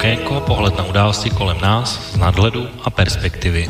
Okénko, pohled na události kolem nás z nadhledu a perspektivy.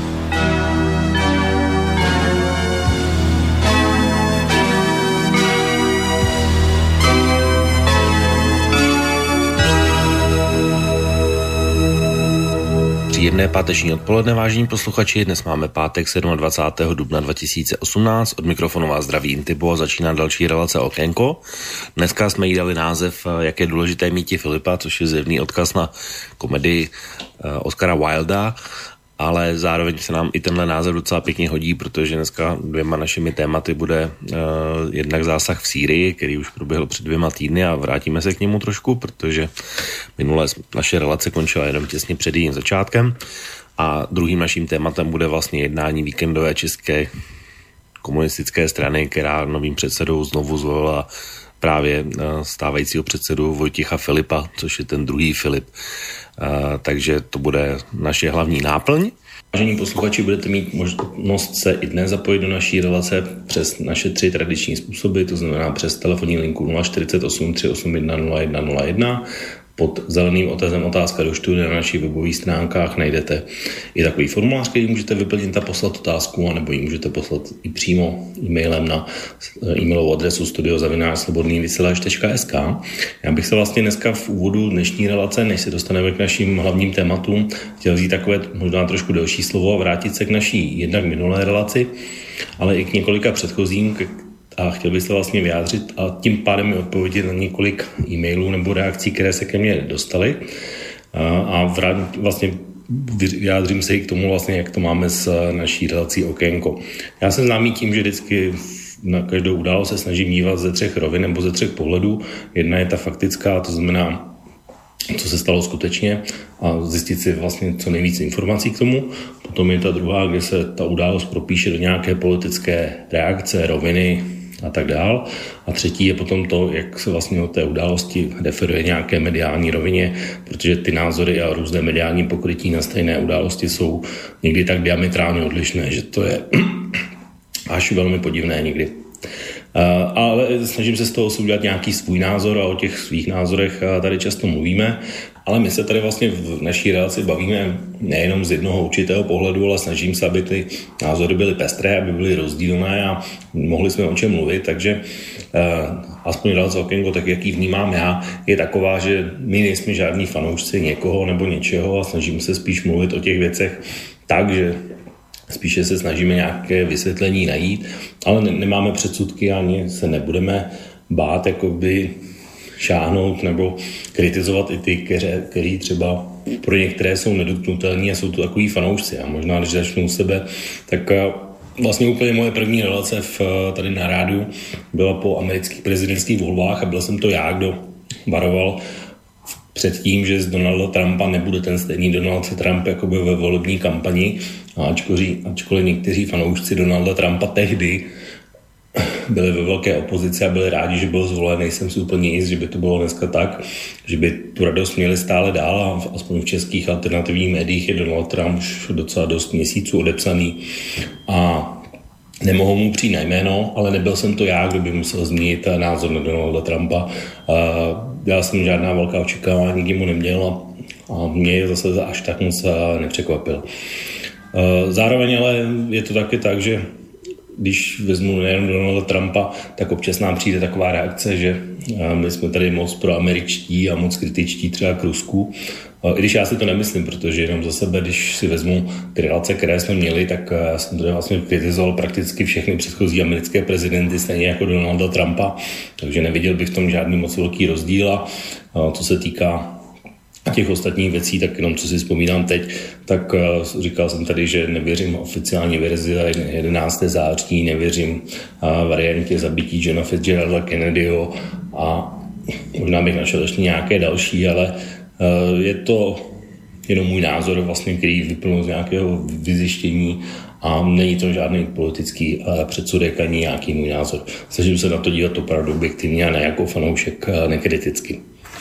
Příjemné páteční odpoledne, vážení posluchači. Dnes máme pátek 27. dubna 2018. Od mikrofonu vás zdraví Intibo a začíná další relace Okénko. Dneska jsme jí dali název Jak je důležité míti Filipa, což je zjevný odkaz na komedii Oscara Wilda, ale zároveň se nám i tenhle název docela pěkně hodí, protože dneska dvěma našimi tématy bude jednak zásah v Sýrii, který už proběhl před 2 týdny a vrátíme se k němu trošku, protože minule naše relace končila jenom těsně před jejím začátkem. A druhým naším tématem bude vlastně jednání víkendové české komunistické strany, která novým předsedou znovu zvolila právě stávajícího předsedu Vojtěcha Filipa, což je ten druhý Filip. Takže to bude naše hlavní náplň. Vážení posluchači, budete mít možnost se i dnes zapojit do naší relace přes naše 3 tradiční způsoby, to znamená přes telefonní linku 048 381 0101. Pod zeleným otazem otázka do studia na našich webových stránkách najdete i takový formulář, který můžete vyplnit a poslat otázku, anebo ji můžete poslat i přímo e-mailem na e-mailovou adresu studio@slobodnývysílač.sk. Já bych se vlastně dneska v úvodu dnešní relace, než se dostaneme k našim hlavním tématům, chtěl vzít takové možná trošku delší slovo a vrátit se k naší jednak minulé relaci, ale i k několika předchozím, a chtěl bych se vlastně vyjádřit a tím pádem mi odpovědět na několik e-mailů nebo reakcí, které se ke mně dostaly a vlastně vyjádřím se i k tomu vlastně, jak to máme s naší relací Okénko. Já jsem známý tím, že vždycky na každou událost se snažím dívat ze 3 rovin nebo ze 3 pohledů. Jedna je ta faktická, to znamená, co se stalo skutečně a zjistit si vlastně co nejvíc informací k tomu. Potom je ta druhá, kde se ta událost propíše do nějaké politické reakce, roviny a tak dál. A třetí je potom to, jak se vlastně o té události referuje nějaké mediální rovině, protože ty názory a různé mediální pokrytí na stejné události jsou někdy tak diametrálně odlišné, že to je až velmi podivné někdy. Ale snažím se z toho udělat nějaký svůj názor a o těch svých názorech tady často mluvíme, ale my se tady vlastně v naší relaci bavíme nejenom z jednoho určitého pohledu, ale snažím se, aby ty názory byly pestré, aby byly rozdílné a mohli jsme o čem mluvit, takže aspoň relace Okénko, tak jak ji vnímám já, je taková, že my nejsme žádní fanoušci někoho nebo něčeho a snažíme se spíš mluvit o těch věcech tak, že spíše se snažíme nějaké vysvětlení najít, ale nemáme předsudky ani se nebudeme bát jakoby šáhnout nebo kritizovat i ty, kteří třeba pro některé jsou nedotknutelní a jsou to takový fanoušci. A možná, když začnu u sebe, tak vlastně úplně moje první relace tady na rádiu byla po amerických prezidentských volbách a byl jsem to já, kdo varoval před tím, že z Donalda Trumpa nebude ten stejný Donald Trump jakoby ve volební kampani. A ačkoliv někteří fanoušci Donalda Trumpa tehdy byli ve velké opozici a byli rádi, že byl zvolen, nejsem si úplně jist, že by to bylo dneska tak, že by tu radost měli stále dál a aspoň v českých alternativních médiích je Donald Trump už docela dost měsíců odepsaný a nemohou mu přijít na jméno, ale nebyl jsem to já, kdo by musel změnit názor na Donalda Trumpa. Já jsem žádná velká očekávání nikdy mu neměl a mě zase až tak moc nepřekvapil. Zároveň ale je to taky tak, že když vezmu nejen Donalda Trumpa, tak občas nám přijde taková reakce, že my jsme tady moc proameričtí a moc kritičtí třeba k Rusku. I když já si to nemyslím, protože jenom za sebe, když si vezmu ty relace, které jsme měli, tak já jsem tady vlastně kritizoval prakticky všechny předchozí americké prezidenty, stejně jako Donalda Trumpa, takže neviděl bych v tom žádný moc velký rozdíl a co se týká těch ostatních věcí, tak jenom co si vzpomínám teď, tak říkal jsem tady, že nevěřím oficiální verzi 11. září, nevěřím variantě zabití Johna Fitzgeralda Kennedyho a možná bych našel ještě nějaké další, ale je to jenom můj názor, vlastně, který vyplnul z nějakého vyzjištění a není to žádný politický předsudek ani nějaký můj názor. Snažím se na to dívat opravdu objektivně a ne jako fanoušek nekriticky.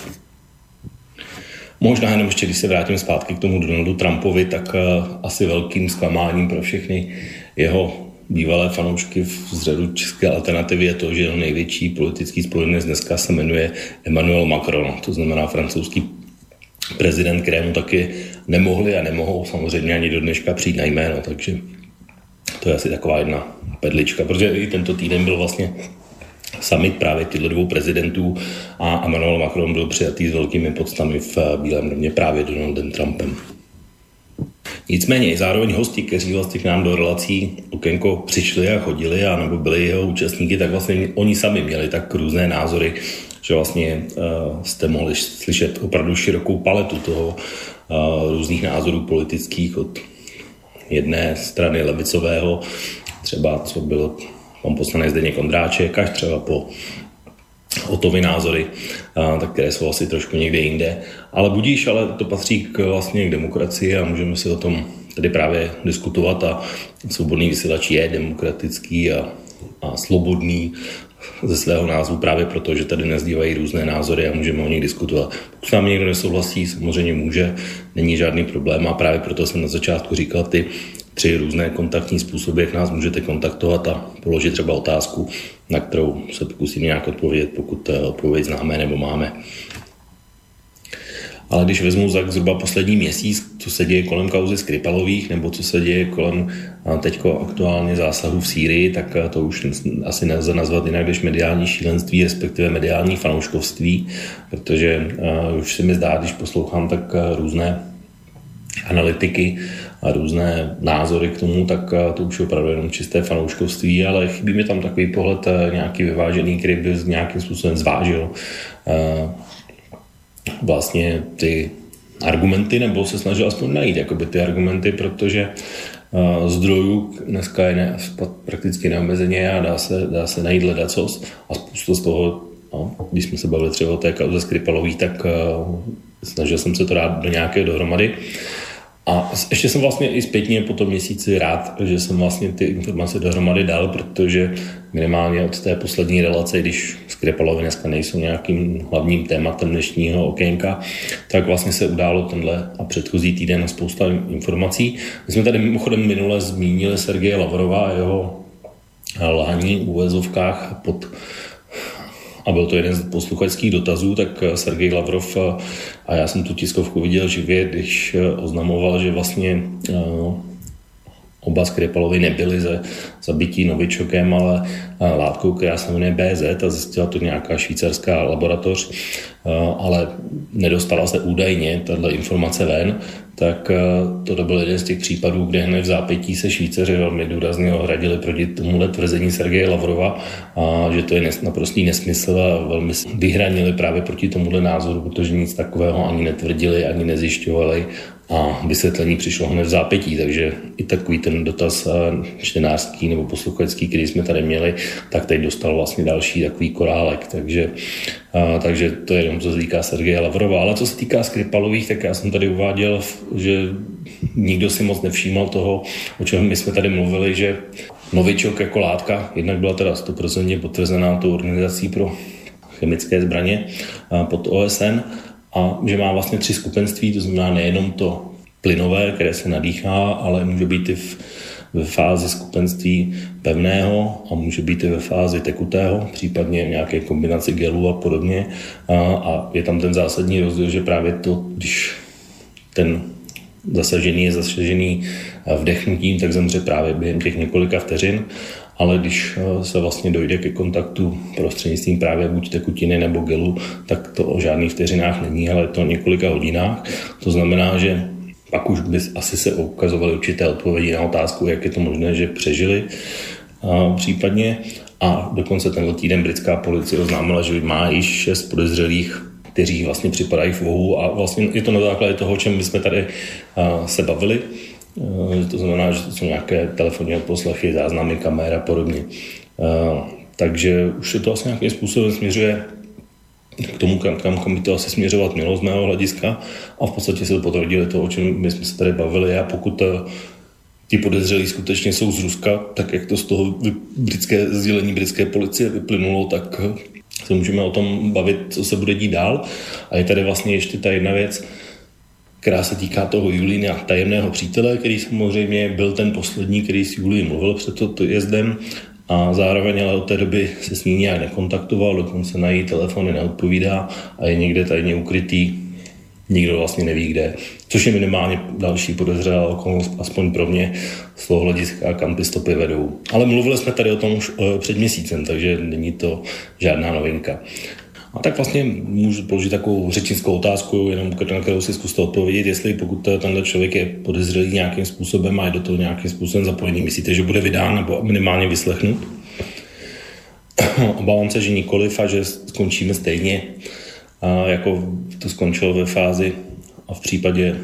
Možná jenom ještě, když se vrátím zpátky k tomu Donaldu Trumpovi, tak asi velkým zklamáním pro všechny jeho bývalé fanoušky z řadu české alternativy je to, že jeho největší politický spojenec dneska se jmenuje Emmanuel Macron, to znamená francouzský prezident, kterému taky nemohli a nemohou samozřejmě ani do dneška přijít na jméno, takže to je asi taková jedna perlička, protože i tento týden byl vlastně summit právě těchto dvou prezidentů a Emmanuel Macron byl přijatý s velkými poctami v Bílém domě právě Donaldem Trumpem. Nicméně zároveň hosti, kteří vlastně k nám do relací Okénko přišli a chodili a nebo byli jeho účastníky, tak vlastně oni sami měli tak různé názory, že vlastně jste mohli slyšet opravdu širokou paletu toho různých názorů politických od jedné strany levicového, třeba co byl pan poslanec Zdeněk Ondráček, až třeba po Otovy názory, tak které jsou asi trošku někde jinde. Ale budíš, ale to patří vlastně k demokracii a můžeme si o tom tady právě diskutovat a Svobodný vysílač je demokratický a svobodný ze svého názvu právě proto, že tady nezdívají různé názory a můžeme o nich diskutovat. Pokud s námi někdo nesouhlasí, samozřejmě může, není žádný problém a právě proto jsem na začátku říkal ty 3 různé kontaktní způsoby, jak nás můžete kontaktovat a položit třeba otázku, na kterou se pokusím nějak odpovědět, pokud odpověď známe nebo máme. Ale když vezmu za zhruba poslední měsíc, co se děje kolem kauzy Skripalových nebo co se děje kolem teďko aktuálně zásahu v Sýrii, tak to už asi nelze nazvat jinak než mediální šílenství, respektive mediální fanouškovství, protože už se mi zdá, když poslouchám tak různé analytiky a různé názory k tomu, tak to už je opravdu jenom čisté fanouškovství, ale chybí mi tam takový pohled nějaký vyvážený, který by nějakým způsobem zvážil vlastně ty argumenty, nebo se snažil aspoň najít jakoby ty argumenty, protože zdrojů dneska je prakticky neomezeně a dá se najít ledacos a spoustu z toho, když jsme se bavili třeba o té kauze Skripalových, tak snažil jsem se to dát do nějaké dohromady. A ještě jsem vlastně i zpětně po tom měsíci rád, že jsem vlastně ty informace dohromady dal, protože minimálně od té poslední relace, když Skripalovi dneska nejsou nějakým hlavním tématem dnešního okénka, tak vlastně se událo tenhle a předchozí týden spousta informací. My jsme tady mimochodem minule zmínili Sergeje Lavrova a jeho lhaní v úvozovkách a byl to jeden z posluchačských dotazů, tak Sergej Lavrov, a já jsem tu tiskovku viděl živě, když oznamoval, že vlastně oba Skripalovi nebyli ze zabití novičokem, ale látkou, která se jmenuje BZ a zjistila to nějaká švýcarská laboratoř, ale nedostala se údajně tato informace ven, tak to byl jeden z těch případů, kde hned v zápětí se Švýcaři velmi důrazně ohradili proti tomuhle tvrzení Sergeje Lavrova a že to je naprostý nesmysl a velmi vyhranili právě proti tomuhle názoru, protože nic takového ani netvrdili, ani nezjišťovali a vysvětlení přišlo hned v zápětí, takže i takový ten dotaz čtenářský nebo posluchačský, který jsme tady měli, tak teď dostal vlastně další takový korálek, takže to je jenom co se týká Sergeje Lavrova, ale co se týká Skripalových, tak já jsem tady uváděl, že nikdo si moc nevšímal toho, o čem my jsme tady mluvili, že novičok jako látka, jednak byla teda 100% potvrzená tou organizací pro chemické zbraně pod OSN, a že má vlastně 3 skupenství, to znamená nejenom to plynové, které se nadýchá, ale může být i ve fázi skupenství pevného a může být i ve fázi tekutého, případně nějaké kombinaci gelů a podobně. A je tam ten zásadní rozdíl, že právě to, když ten zasažený je zasažený vdechnutím, tak zemře právě během těch několika vteřin, ale když se vlastně dojde ke kontaktu prostřednictvím právě buď tekutiny nebo gelu, tak to o žádných vteřinách není, ale je to o několika hodinách. To znamená, že pak už by asi se ukazovaly určité odpovědi na otázku, jak je to možné, že přežili případně. A dokonce tenhle týden britská policie oznámila, že má již 6 podezřelých, kteří vlastně připadají v úvahu a vlastně je to na základě toho, o čem my jsme tady se bavili. To znamená, že to jsou nějaké telefonní odposlechy, záznamy, kamer a podobně. Takže už se to asi nějakým způsobem směřuje k tomu, kam by to asi směřovat mělo z mého hlediska a v podstatě se potvrdili to, o čem my jsme se tady bavili a pokud ti podezřelí skutečně jsou z Ruska, tak jak to z toho sdělení britské policie vyplynulo, tak se můžeme o tom bavit, co se bude dít dál. A je tady vlastně ještě ta jedna věc, která se týká toho Julína tajemného přítele, který samozřejmě byl ten poslední, který s Julí mluvil před jezdem a zároveň ale od té doby se s ní nějak nekontaktoval, dokonce na její telefony neodpovídá a je někde tajně ukrytý nikdo vlastně neví kde, což je minimálně další podezřelá okolnost, aspoň pro mě z toho hlediska, kam ty stopy vedou. Ale mluvili jsme tady o tom už před měsícem, takže není to žádná novinka. A tak vlastně můžu položit takovou řečnickou otázku, jenom na kterou si zkuste odpovědět, jestli pokud tenhle člověk je podezřelý nějakým způsobem a je do toho nějakým způsobem zapojený, myslíte, že bude vydán nebo minimálně vyslechnut? Obávám se, že nikoliv a že skončíme stejně, jako to skončilo ve fázi a v případě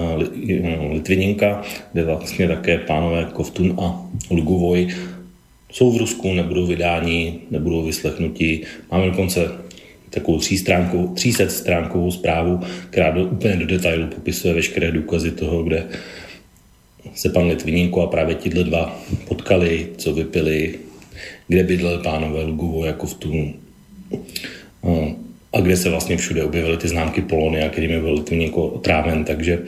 Litviněnka, kde vlastně také pánové Kovtun a Luguvoj jsou v Rusku, nebudou vydáni, nebudou vyslechnuti. Máme dokonce takovou 300stránkovou zprávu, která úplně do detailu popisuje veškeré důkazy toho, kde se pan Litvinenko a právě tihle dva potkali, co vypili, kde bydleli pánové Luguvoj a Kovtun a kde se vlastně všude objevily ty známky Polonia, kterými byl Litvinenko otráven. Takže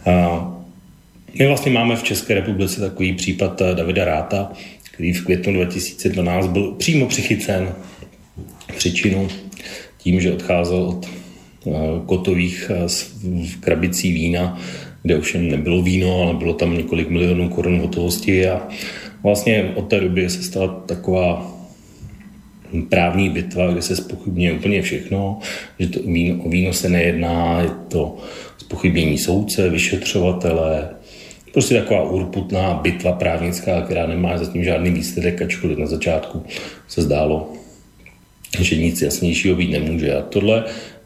my vlastně máme v České republice takový případ Davida Ratha, který v květnu 2012 byl přímo přichycen příčinu tím, že odcházel od kotových krabicí vína, kde ovšem nebylo víno, ale bylo tam několik milionů korun hotovosti a vlastně od té doby se stala taková právní bitva, kde se zpochybňuje úplně všechno, že to o víno se nejedná, je to zpochybnění soudce, vyšetřovatele, prostě taková urputná bitva právnická, která nemá zatím žádný výsledek, ačkoliv na začátku se zdálo, že nic jasnějšího být nemůže. A tohle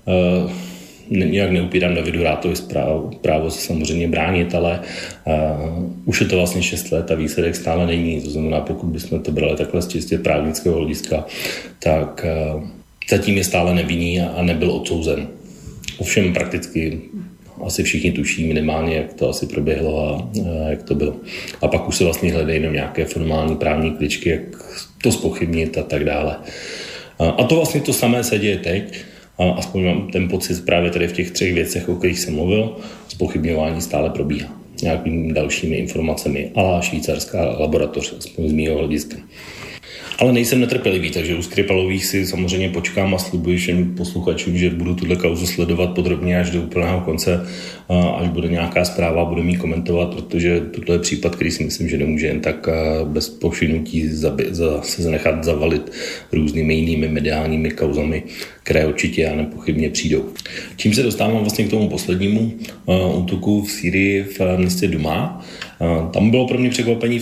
nějak neupírám Davidu Rathovi právo se samozřejmě bránit, ale už je to vlastně 6 let a výsledek stále není. To znamená, pokud bychom to brali takhle z čistě právnického hlediska, tak zatím je stále nevinný a nebyl odsouzen. Ovšem prakticky asi všichni tuší minimálně, jak to asi proběhlo a jak to bylo. A pak už se vlastně hledají jenom nějaké formální právní kličky, jak to zpochybnit a tak dále. A to vlastně to samé se děje teď. A aspoň mám ten pocit právě tady v těch 3 věcech, o kterých jsem mluvil, zpochybňování stále probíhá nějakými dalšími informacemi, ale švýcarská laboratoř, aspoň z mýho hlediska. Ale nejsem netrpělivý, takže u Skripalových si samozřejmě počkám a slibuji všem posluchačům, že budu tuhle kauzu sledovat podrobně až do úplného konce, až bude nějaká zpráva, budu ji komentovat, protože tohle je případ, který si myslím, že nemůže jen tak bez povšimnutí se nechat zavalit různými jinými mediálními kauzami, které určitě a nepochybně přijdou. Čím se dostávám vlastně k tomu poslednímu útoku v Sýrii v městě Duma. Tam bylo pro mě překvapení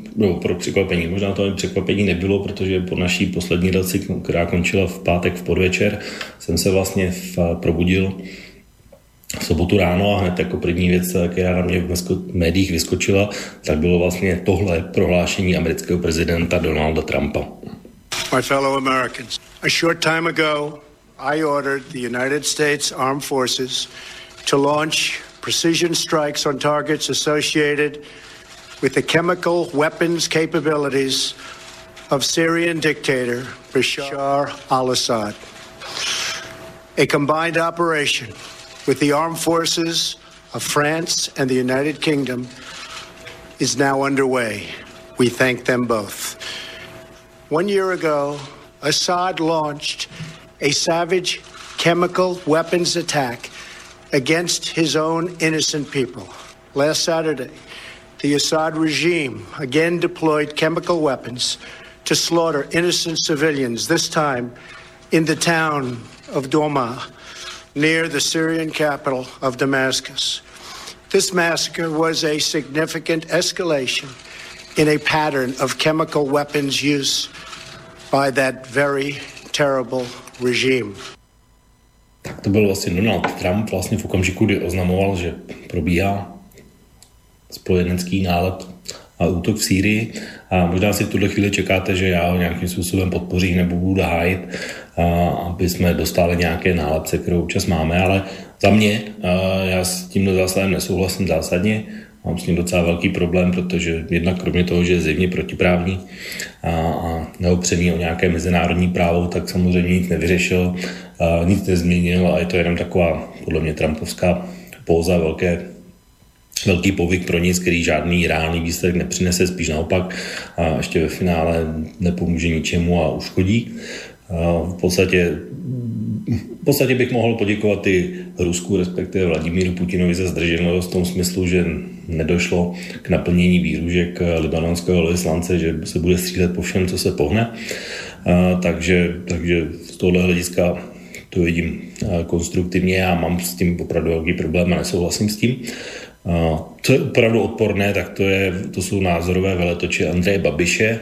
možná to překvapení nebylo, protože po naší poslední relaci, která končila v pátek v podvečer, jsem se vlastně probudil v sobotu ráno a hned jako první věc, která na mě v médiích vyskočila, tak bylo vlastně tohle prohlášení amerického prezidenta Donalda Trumpa. My fellow Americans, a short time ago, I ordered the United States Armed Forces to launch precision strikes on targets associated with the chemical weapons capabilities of Syrian dictator Bashar al-Assad. A combined operation with the armed forces of France and the United Kingdom is now underway. We thank them both. 1 year ago, Assad launched a savage chemical weapons attack against his own innocent people. Last Saturday, the Assad regime again deployed chemical weapons to slaughter innocent civilians, this time in the town of Douma, near the Syrian capital of Damascus. This massacre was a significant escalation in a pattern of chemical weapons use by that very terrible regime. Tak to byl vlastně Donald Trump vlastně v okamžiku, kdy oznamoval, že probíhá spojenecký nálet a útok v Sýrii. A možná si v tuhle chvíli čekáte, že já ho nějakým způsobem podpořím nebo budu hájit, aby jsme dostali nějaké nálepce, kterou občas máme, ale za mě, já s tímhle zásadem nesouhlasím zásadně. Mám s ním docela velký problém, protože jednak kromě toho, že je zjevně protiprávní a neopřený o nějaké mezinárodní právo, tak samozřejmě nic nevyřešil, nic nezměnil a je to jenom taková, podle mě, trumpovská póza, velký povyk pro nic, který žádný reálný výsledek nepřinese, spíš naopak a ještě ve finále nepomůže ničemu a uškodí. V podstatě V podstatě bych mohl poděkovat i Rusku, respektive Vladimíru Putinovi za zdrženlivost v tom smyslu, že nedošlo k naplnění výhružek libanonského vyslance, že se bude střílet po všem, co se pohne. Takže z tohohle hlediska to vidím konstruktivně. Já mám s tím opravdu velký problém a nesouhlasím s tím. Co je opravdu odporné, tak to jsou názorové veletoče Andreje Babiše,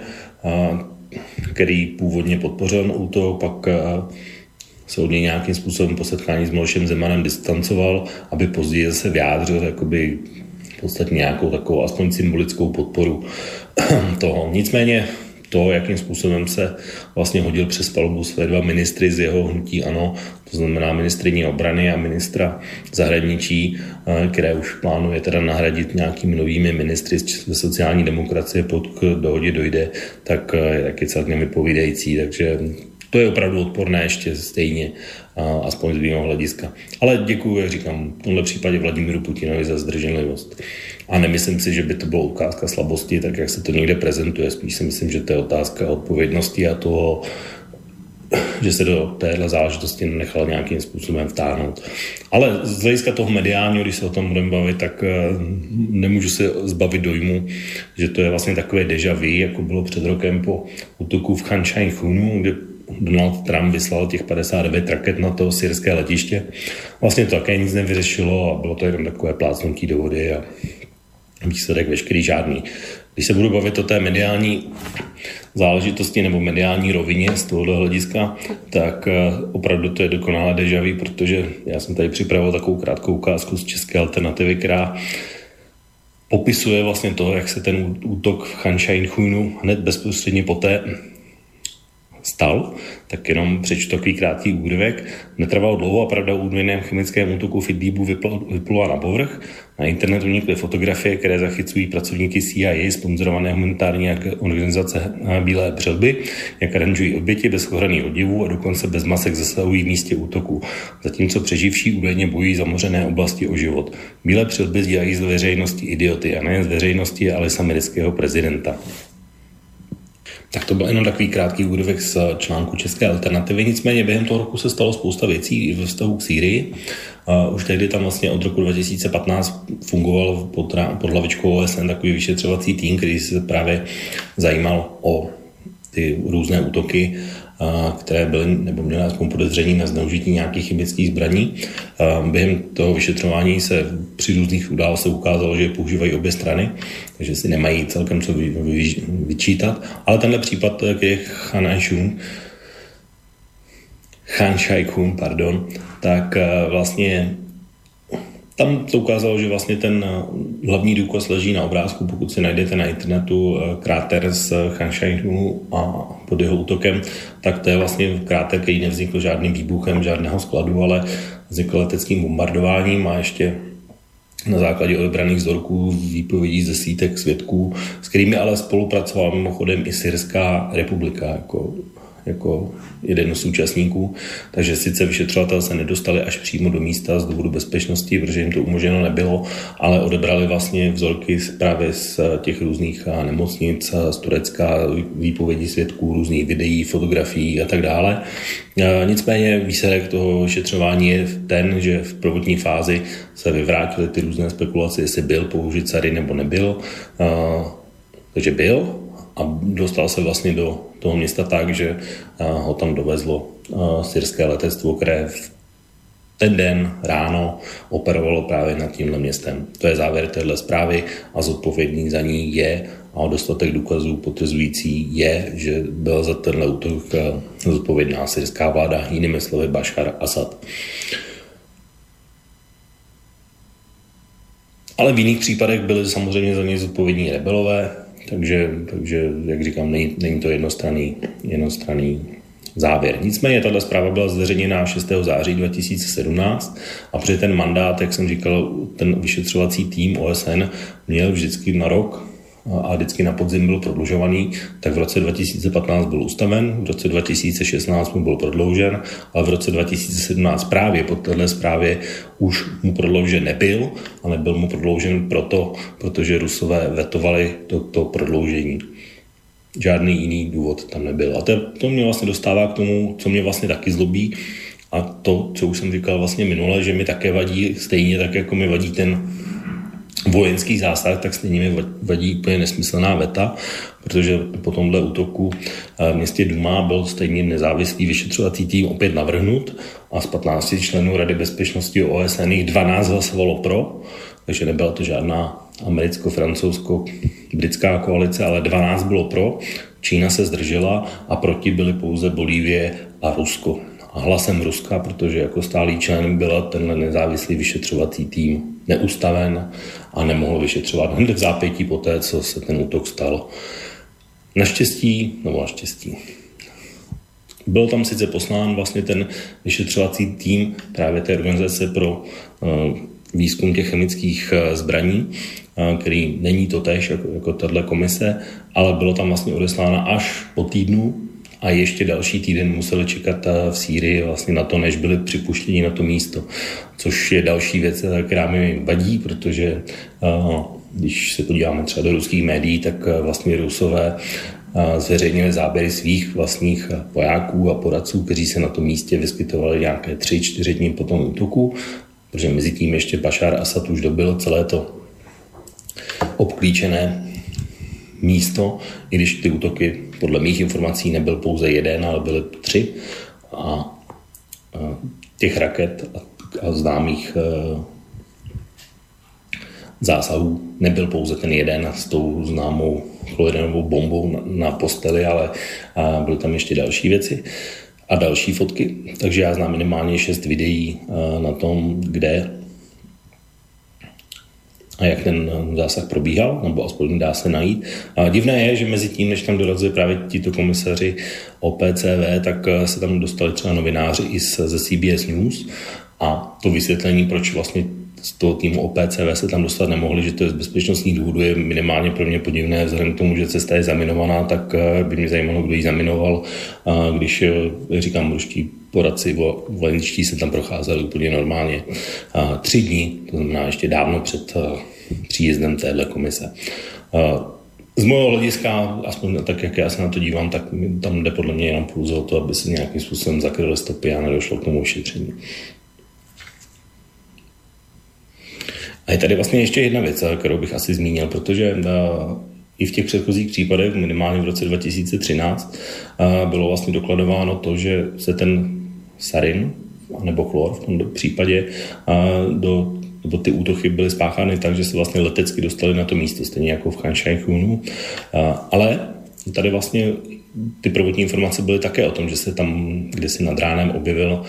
který původně podpořil útok, pak se od něj nějakým způsobem po setkání s Milošem Zemanem distancoval, aby později zase vyjádřil jakoby v podstatě nějakou takovou aspoň symbolickou podporu toho. Nicméně to, jakým způsobem se vlastně hodil přes palubu své dva ministry z jeho hnutí ANO, to znamená ministryni obrany a ministra zahraničí, které už plánuje teda nahradit nějakými novými ministry ze sociální demokracie, pokud k dohodě dojde, tak je celkem vypovídající, takže to je opravdu odporné ještě stejně, aspoň z mého hlediska. Ale děkuji, jak říkám, v tomhle případě Vladimíru Putinovi za zdrženlivost. A nemyslím si, že by to byla ukázka slabosti, tak jak se to někde prezentuje. Spíš si myslím, že to je otázka odpovědnosti a toho, že se do téhle záležitosti nechal nějakým způsobem vtáhnout. Ale z hlediska toho mediálního, když se o tom budeme bavit, tak nemůžu se zbavit dojmu, že to je vlastně takové déjà vu, jako bylo před rokem po útoku v Chan Shaykhunu, kde Donald Trump vyslal těch 59 raket na to syrské letiště. Vlastně to také nic nevyřešilo a bylo to jenom takové plácnutí do vody a výsledek veškerý žádný. Když se budu bavit o té mediální záležitosti nebo mediální rovině z tohoto hlediska, tak opravdu to je dokonalé déjà vu, protože já jsem tady připravil takovou krátkou ukázku z České alternativy, která popisuje vlastně to, jak se ten útok v Chan Shaykhunu hned bezprostředně poté stal, tak jenom přečtu takový krátký úryvek. Netrvalo dlouho a pravda o údajném chemickém útoku v Idlíbu vyplula na povrch. Na internetu unikly fotografie, které zachycují pracovníky CIA, sponzorované humanitární organizace Bílé přilby, jak aranžují oběti bez ochranných oděvů a dokonce bez masek zasahují v místě útoku. Zatímco přeživší údajně bojují zamořené oblasti o život. Bílé přilby dělají z veřejnosti idioty a nejen z veřejnosti, ale z amerického prezidenta. Tak to byl jenom takový krátký úryvek z článku České alternativy. Nicméně během toho roku se stalo spousta věcí ve vztahu k Sýrii. Už tehdy tam vlastně od roku 2015 fungoval pod hlavičkou OSN takový vyšetřovací tým, který se právě zajímal o ty různé útoky, které byly nebo měly aspoň podezření na zneužití nějakých chemických zbraní. Během toho vyšetřování se při různých událostech ukázalo, že je používají obě strany, takže si nemají celkem co vyčítat. Ale tenhle případ, který je Chan Shaykhun, tak vlastně tam to ukázalo, že vlastně ten hlavní důkaz leží na obrázku, pokud si najdete na internetu kráter z Chan Shaykhunu a pod jeho útokem, tak to je vlastně kráter, který nevznikl žádným výbuchem žádného skladu, ale vznikl leteckým bombardováním a ještě na základě odebraných vzorků výpovědí ze sítek svědků, s kterými ale spolupracovala mimochodem i Syrská republika jako jeden z účastníků, takže sice vyšetřovatelé se nedostali až přímo do místa z důvodu bezpečnosti, protože jim to umožněno nebylo, ale odebrali vlastně vzorky právě z těch různých nemocnic, z Turecka, výpovědí svědků, různých videí, fotografií a tak dále. Nicméně výsledek toho vyšetřování je ten, že v prvotní fázi se vyvrátily ty různé spekulace, jestli byl použit sary nebo nebyl. Takže byl a dostal se vlastně do toho města tak, že ho tam dovezlo syrské letectvo, které v ten den ráno operovalo právě nad tímhle městem. To je závěr téhle zprávy a zodpovědný za ní je a dostatek důkazů potvrzující je, že byl za tenhle útok zodpovědná syrská vláda, jinými slovy Bašar Asad. Ale v jiných případech byly samozřejmě za něj zodpovědní rebelové, takže jak říkám, není to jednostranný závěr. Nicméně tato zpráva byla zveřejněna 6. září 2017 a při ten mandát, jak jsem říkal, ten vyšetřovací tým OSN měl vždycky na rok a vždycky na podzim byl prodlužovaný, tak v roce 2015 byl ustaven, v roce 2016 mu byl prodloužen, ale v roce 2017 právě po této zprávě už mu prodloužen nebyl a nebyl mu prodloužen protože Rusové vetovali to prodloužení. Žádný jiný důvod tam nebyl. A to mě vlastně dostává k tomu, co mě vlastně taky zlobí, A to, co už jsem říkal vlastně minule, že mi také vadí, stejně tak, jako mi vadí ten vojenský zásah, tak stejně mi vadí úplně nesmyslná veta, protože po tomhle útoku v městě Duma byl stejně nezávislý vyšetřovací tým opět navrhnut a z 15 členů Rady bezpečnosti OSN jich 12 hlasovalo pro, takže nebyla to žádná americko-francouzsko-britská koalice, ale 12 bylo pro, Čína se zdržela a proti byly pouze Bolívie a Rusko. A hlasem Ruska, protože jako stálý člen byla tenhle nezávislý vyšetřovací tým neustaven a nemohl vyšetřovat hned v zápětí po té, co se ten útok stal. Naštěstí, byl tam sice poslán vlastně ten vyšetřovací tým právě té organizace pro výzkum těch chemických zbraní, který není totéž jako tato komise, ale bylo tam vlastně odesláno až po týdnu a ještě další týden museli čekat v Sýrii vlastně na to, než byli připuštěni na to místo. Což je další věc, která mi vadí, protože když se podíváme třeba do ruských médií, tak vlastně Rusové zveřejnili záběry svých vlastních vojáků a poradců, kteří se na tom místě vyskytovali nějaké 3-4 dny po tom útoku, protože mezi tím ještě Bašár Asad už dobil celé to obklíčené místo, i když ty útoky podle mých informací nebyl pouze jeden, ale byly 3 a těch raket a známých zásahů nebyl pouze ten jeden s tou známou chlorinovou bombou na posteli, ale byly tam ještě další věci a další fotky. Takže já znám minimálně 6 videí na tom, kde a jak ten zásah probíhal, nebo aspoň dá se najít. A divné je, že mezi tím, než tam dorazili právě tito komisaři OPCW, tak se tam dostali třeba novináři i ze CBS News a to vysvětlení, proč vlastně z toho týmu OPCW se tam dostat nemohli, že to je z bezpečnostních důvodů, je minimálně pro mě podivné, vzhledem k tomu, že cesta je zaminovaná, tak by mě zajímalo, kdo ji zaminoval, když, říkám, ruští poradci vojenští se tam procházeli úplně normálně 3 dny, to znamená ještě dávno před příjezdem téhle komise. Z mého hlediska, aspoň tak, jak já se na to dívám, tak tam jde podle mě jenom pouze o to, aby se nějakým způsobem zakryly stopy a nedošlo k tomu vyšetření. A je tady vlastně ještě jedna věc, kterou bych asi zmínil, protože i v těch předchozích případech, minimálně v roce 2013, bylo vlastně dokladováno to, že se ten sarin, nebo chlor v tom případě, nebo ty útoky byly spáchány tak, že se vlastně letecky dostali na to místo, stejně jako v Chan Shaychunu. Ale tady vlastně ty prvotní informace byly také o tom, že se tam kdysi nad ránem objevil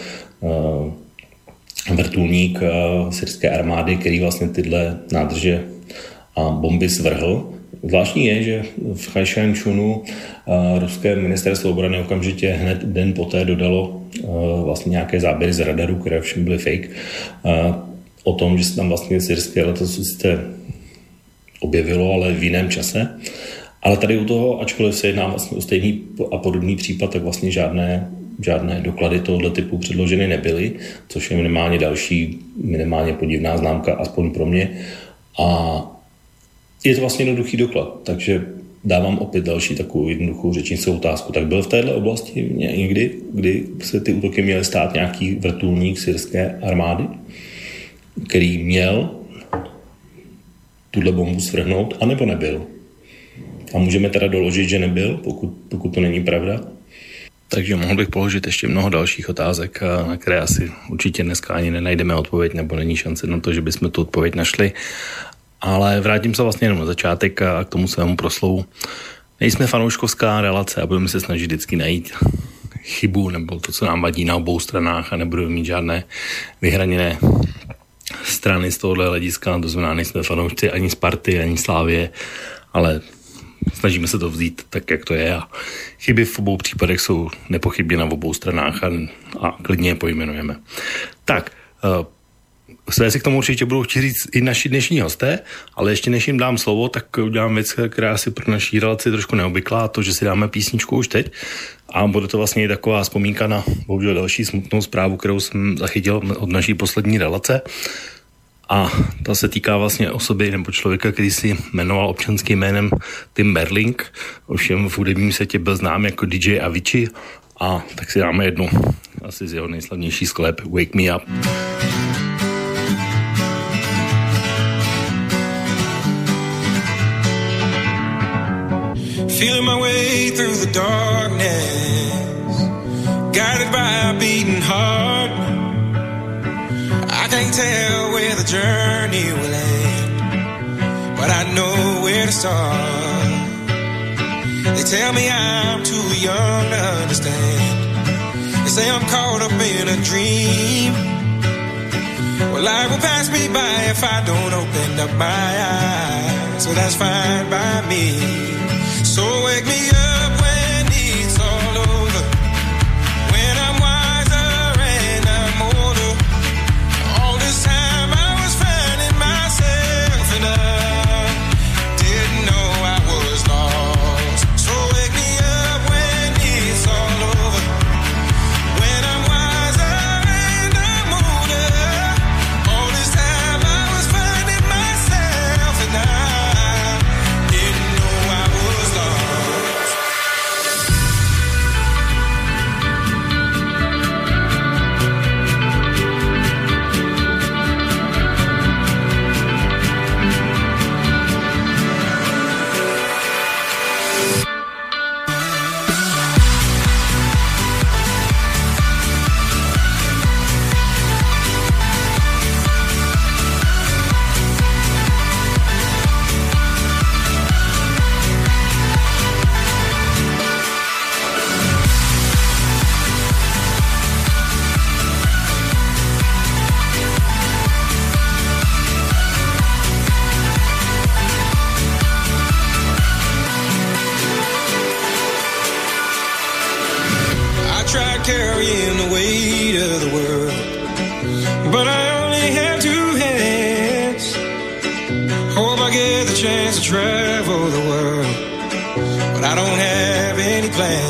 vrtulník syrské armády, který vlastně tyhle nádrže a bomby svrhl. Zvláštní je, že v Chajšančunu ruské ministerstvo obrany okamžitě hned den poté dodalo vlastně nějaké záběry z radaru, které všem byly fake, o tom, že se tam vlastně syrské letadlo sice objevilo, ale v jiném čase. Ale tady u toho, ačkoliv se jedná vlastně o stejný a podobný případ, tak vlastně žádné doklady tohoto typu předloženy nebyly, což je minimálně podivná známka, aspoň pro mě. A je to vlastně jednoduchý doklad, takže dávám opět další takovou jednoduchou řečnickou otázku. Tak byl v této oblasti někdy, kdy se ty útoky měly stát nějaký vrtulník syrské armády, který měl tuhle bombu svrhnout, anebo nebyl? A můžeme teda doložit, že nebyl, pokud to není pravda? Takže mohl bych položit ještě mnoho dalších otázek, na které asi určitě dneska ani nenajdeme odpověď, nebo není šance na to, že bychom tu odpověď našli. Ale vrátím se vlastně jenom na začátek a k tomu svému proslovu. Nejsme fanouškovská relace a budeme se snažit vždycky najít chybu nebo to, co nám vadí na obou stranách a nebudeme mít žádné vyhraněné strany z tohohle hlediska. To znamená, nejsme fanoušci ani Sparty, ani Slávie, ale snažíme se to vzít tak, jak to je a chyby v obou případech jsou nepochybně na obou stranách a klidně je pojmenujeme. Tak, své si k tomu určitě budou chtít říct i naši dnešní hosté, ale ještě než jim dám slovo, tak udělám věc, která si pro naší relaci trošku neobvyklá, to, že si dáme písničku už teď a bude to vlastně i taková vzpomínka na bohužel další smutnou zprávu, kterou jsem zachytil od naší poslední relace. A ta se týká vlastně osoby nebo člověka, který si jmenoval občanským jménem Tim Berling, ovšem v hudebním světě byl znám jako DJ Avicii a tak si dáme jednu asi z jeho nejslavnější skladeb Wake Me Up. Feeling my way through the darkness, guided by a beating heart. I can't tell where the journey will end, but I know where to start. They tell me I'm too young to understand. They say I'm caught up in a dream. Well, life will pass me by if I don't open up my eyes, so that's fine by me. So wake me up when it's all over, when I'm wiser and I'm older. All this time I was finding myself and I didn't know I was lost. So wake me up when it's all over, when I'm wiser and I'm older. All this time I was finding myself and I didn't know I was lost. I tried carrying the weight of the world, but I only have two hands. Hope I get the chance to travel the world, but I don't have any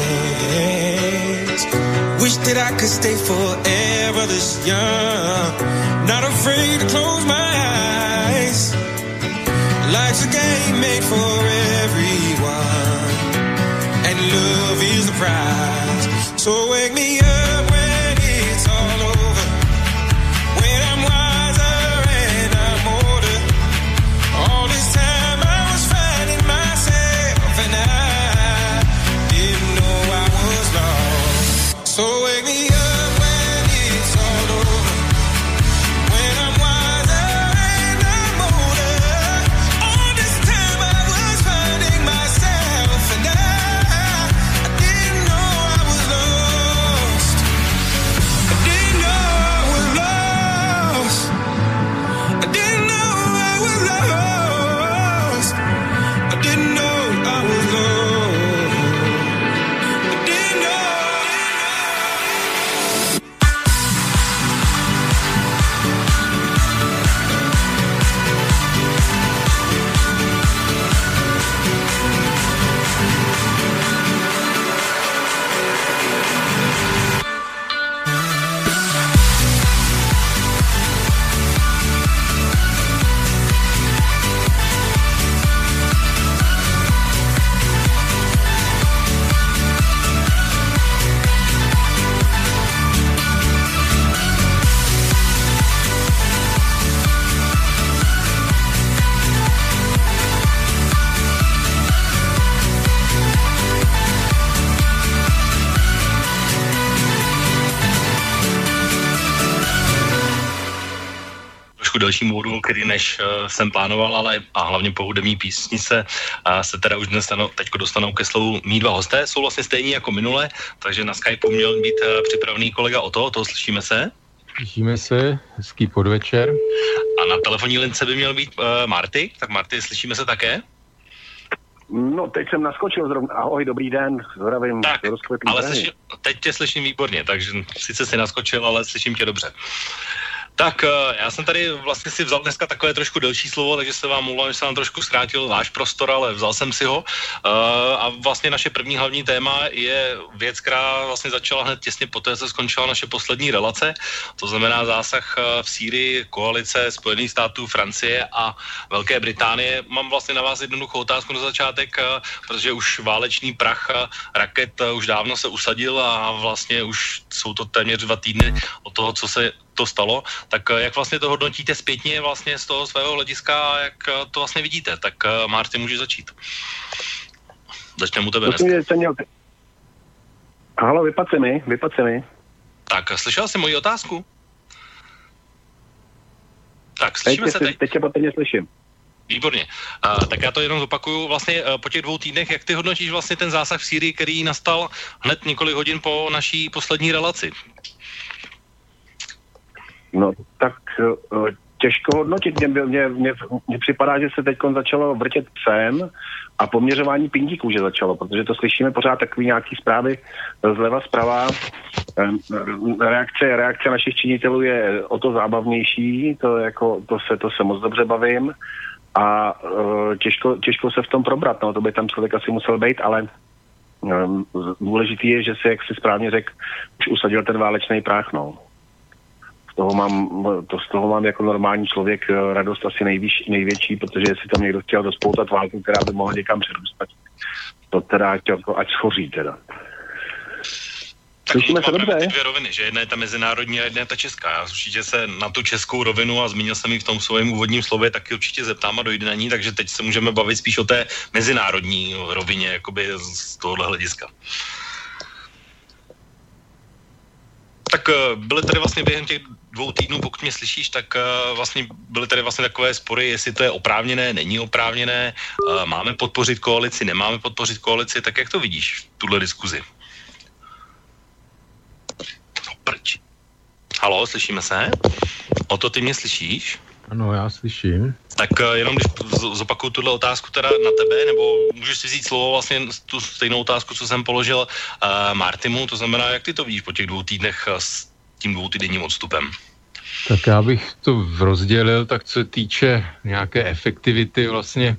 plans. Wish that I could stay forever this young, not afraid to close my eyes. Life's a game made for everyone, and love is the prize. So wake me up when it's all over, when I'm wiser and I'm older. All this time I was finding myself and I didn't know I was lost. So wake me up when it's all over, when I'm wiser and I'm older. All this time I was finding myself and I didn't know I was lost. I didn't know I was lost. I didn't know I was lost. I didn't know I was lost. I didn't know. Trošku delším úvodu, který než jsem plánoval, ale a hlavně po hudební písni se teda už dnes teďko dostanou ke slovu mý dva hosté. Jsou vlastně stejní jako minule, takže na Skypeu měl být připravený kolega Otto, slyšíme se? Slyšíme se, hezký podvečer. A na telefonní lince by měl být Marty, tak Marty, slyšíme se také? No, teď jsem naskočil zrovna. Ahoj, dobrý den, zdravím. Tak, ale teď tě slyším výborně, takže sice jsi naskočil, ale slyším tě dobře. Tak já jsem tady vlastně si vzal dneska takové trošku delší slovo, takže se vám mluvám, že se vám trošku zkrátil váš prostor, ale vzal jsem si ho. A vlastně naše první hlavní téma je věc, která vlastně začala hned těsně poté, co skončila naše poslední relace. To znamená zásah v Sýrii, koalice Spojených států, Francie a Velké Británie. Mám vlastně na vás jednoduchou otázku na začátek, protože už válečný prach raket už dávno se usadil a vlastně už jsou to téměř 2 týdny od toho, co se to stalo, tak jak vlastně to hodnotíte zpětně vlastně z toho svého hlediska a jak to vlastně vidíte? Tak Marty, můžeš začít. Začneme u tebe dneska. Halo, vypad se mi. Tak, slyšel jsi moji otázku? Tak, slyšíme se teď? Teď tě patrně slyším. Výborně. Tak já to jenom zopakuju. Vlastně po těch 2 týdnech, jak ty hodnotíš vlastně ten zásah v Sýrii, který nastal hned několik hodin po naší poslední relaci? No, tak těžko hodnotit. Mně připadá, že se teď začalo vrtět psem a poměřování pindíků, že začalo, protože to slyšíme pořád takový nějaký zprávy zleva, zprava. Reakce našich činitelů je o to zábavnější, to se moc dobře bavím a těžko se v tom probrat, no, to by tam člověk asi musel být, ale důležitý je, že se, jak si správně řekl, už usadil ten válečný prach, no. Z toho mám jako normální člověk radost asi největší, protože jestli tam někdo chtěl rozpoutat válku, která by mohla někam přerůstat, to teda chtěl, ať schoří teda. Slyšíme se dobře? Ty 2 roviny, že jedna je ta mezinárodní a jedna je ta česká. Já určitě se na tu českou rovinu, a zmínil jsem ji v tom svém úvodním slově, taky určitě zeptám a dojde na ní, takže teď se můžeme bavit spíš o té mezinárodní rovině, jakoby z tohohle hlediska. Tak byly tady vlastně během těch 2 týdnů, pokud mě slyšíš, tak vlastně byly tady vlastně takové spory, jestli to je oprávněné, není oprávněné, máme podpořit koalici, nemáme podpořit koalici, tak jak to vidíš, tuhle diskuzi? Halo, slyšíme se? O to ty mě slyšíš? Ano, já slyším. Tak jenom když zopakuju tuhle otázku teda na tebe, nebo můžeš si vzít slovo vlastně tu stejnou otázku, co jsem položil Martimu, to znamená, jak ty to vidíš po těch 2 týdnech s tím 2týdenním odstupem? Tak já bych to rozdělil, tak co se týče nějaké efektivity vlastně,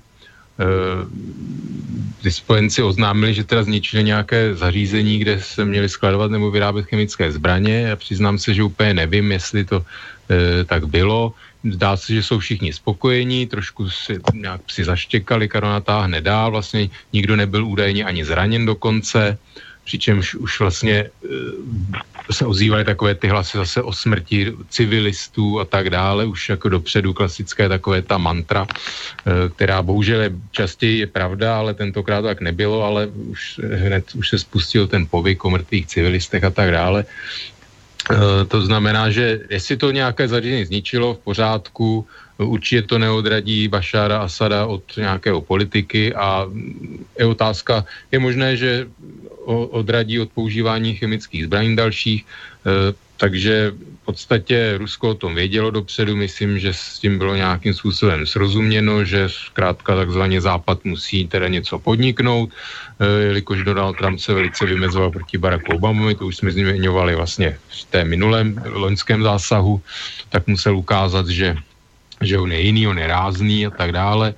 ty spojenci oznámili, že teda zničili nějaké zařízení, kde se měli skladovat nebo vyrábět chemické zbraně. Já přiznám se, že úplně nevím, jestli to tak bylo. Zdá se, že jsou všichni spokojení, trošku si zaštěkali, Karol natáhne dál, vlastně nikdo nebyl údajně ani zraněn dokonce, přičemž už vlastně se ozývaly takové ty hlasy zase o smrti civilistů a tak dále, už jako dopředu klasické takové ta mantra, která bohužel častěji je pravda, ale tentokrát tak nebylo, ale už se spustil ten povyk o mrtvých civilistech a tak dále. To znamená, že jestli to nějaké zařízení zničilo, v pořádku, určitě to neodradí Bašára Asada od nějakého politiky a je otázka, je možné, že odradí od používání chemických zbraní dalších, takže v podstatě Rusko o tom vědělo dopředu, myslím, že s tím bylo nějakým způsobem srozuměno, že zkrátka takzvaně Západ musí teda něco podniknout, jelikož Donald Trump se velice vymezoval proti Baracku Obamovi, to už jsme zmiňovali vlastně v té minulém loňském zásahu, tak musel ukázat, že on je jiný, on je rázný a tak dále.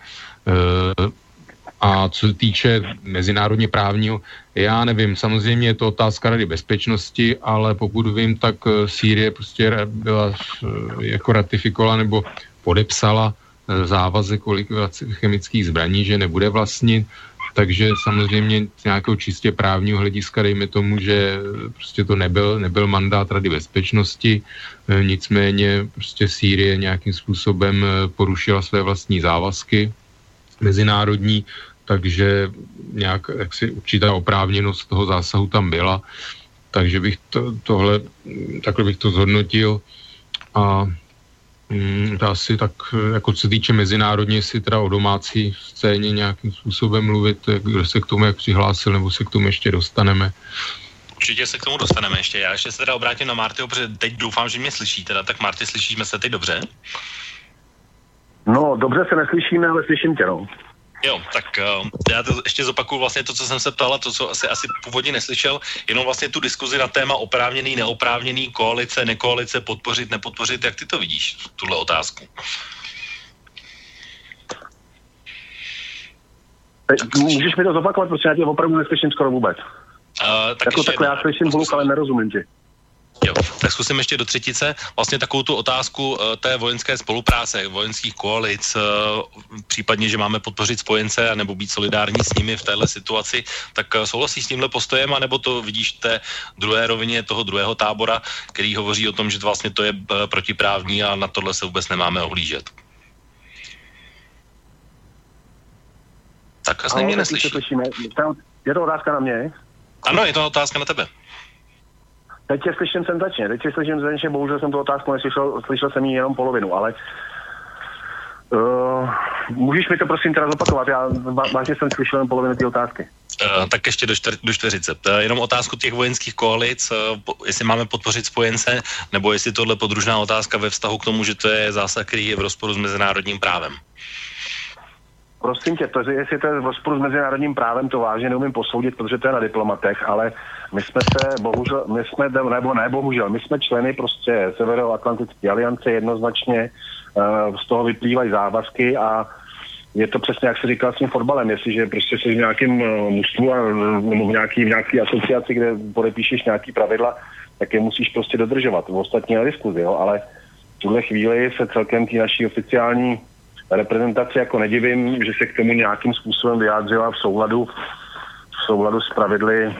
A co se týče mezinárodně právního, já nevím, samozřejmě je to otázka Rady bezpečnosti, ale pokud vím, tak Sýrie prostě byla jako ratifikovala nebo podepsala závazek o likvidaci chemických zbraní, že nebude vlastnit, takže samozřejmě z nějakého čistě právního hlediska dejme tomu, že prostě to nebyl mandát Rady bezpečnosti, nicméně prostě Sýrie nějakým způsobem porušila své vlastní závazky mezinárodní, takže nějak jaksi určitá oprávněnost toho zásahu tam byla, takže bych takhle bych to zhodnotil a to asi tak, jako co se týče mezinárodně, si teda o domácí scéně nějakým způsobem mluvit, kdo se k tomu jak přihlásil, nebo se k tomu ještě dostaneme. Určitě se k tomu dostaneme ještě. Já ještě se teda obrátím na Martyho, protože teď doufám, že mě slyší. Teda, tak Marty, slyšíme se teď dobře? No, dobře se neslyšíme, ale slyším tě, no. Jo, tak já to ještě zopakuju vlastně to, co jsem se ptal, a to, co asi původně neslyšel, jenom vlastně tu diskuzi na téma oprávněný, neoprávněný, koalice, nekoalice, podpořit, nepodpořit, jak ty to vidíš, tuhle otázku? Můžeš mi to zopakovat, protože já tě opravdu neslyším skoro vůbec. Tak jako takhle, já slyším hluk, ale nerozumím ti. Jo, tak zkusím ještě do třetice. Vlastně takovou tu otázku té vojenské spolupráce, vojenských koalic, případně, že máme podpořit spojence nebo být solidární s nimi v téhle situaci, tak souhlasíš s tímhle postojem, anebo to vidíš v té druhé rovině toho druhého tábora, který hovoří o tom, že vlastně to je protiprávní a na tohle se vůbec nemáme ohlížet? Tak asi mě neslyší. Je to otázka na mě? Ano, je to otázka na tebe. Teď tě slyším senzačně, bohužel jsem tu otázku neslyšel, slyšel jsem ji jenom polovinu, ale můžeš mi to prosím teda zopakovat, já vážně jsem slyšel jen polovinu té otázky. Tak ještě do čtveřice. Jenom otázku těch vojenských koalic, jestli máme podpořit spojence, nebo jestli tohle podružná otázka ve vztahu k tomu, že to je zásah, který je v rozporu s mezinárodním právem. Prosím tě, jestli to je v rozporu s mezinárodním právem, to vážně neumím posoudit, protože to je na diplomatech, ale my jsme my jsme členy prostě Severoatlantické aliance jednoznačně, z toho vyplývají závazky a je to přesně, jak se říkal s tím fotbalem, jestliže prostě jsi v nějakém mužstvu nebo v nějaký asociaci, kde podepíšeš nějaký pravidla, tak je musíš prostě dodržovat. V ostatní na diskuzi, jo, ale v tuhle chvíli se celkem té naší oficiální reprezentaci jako nedivím, že se k tomu nějakým způsobem vyjádřila v souladu s pravidly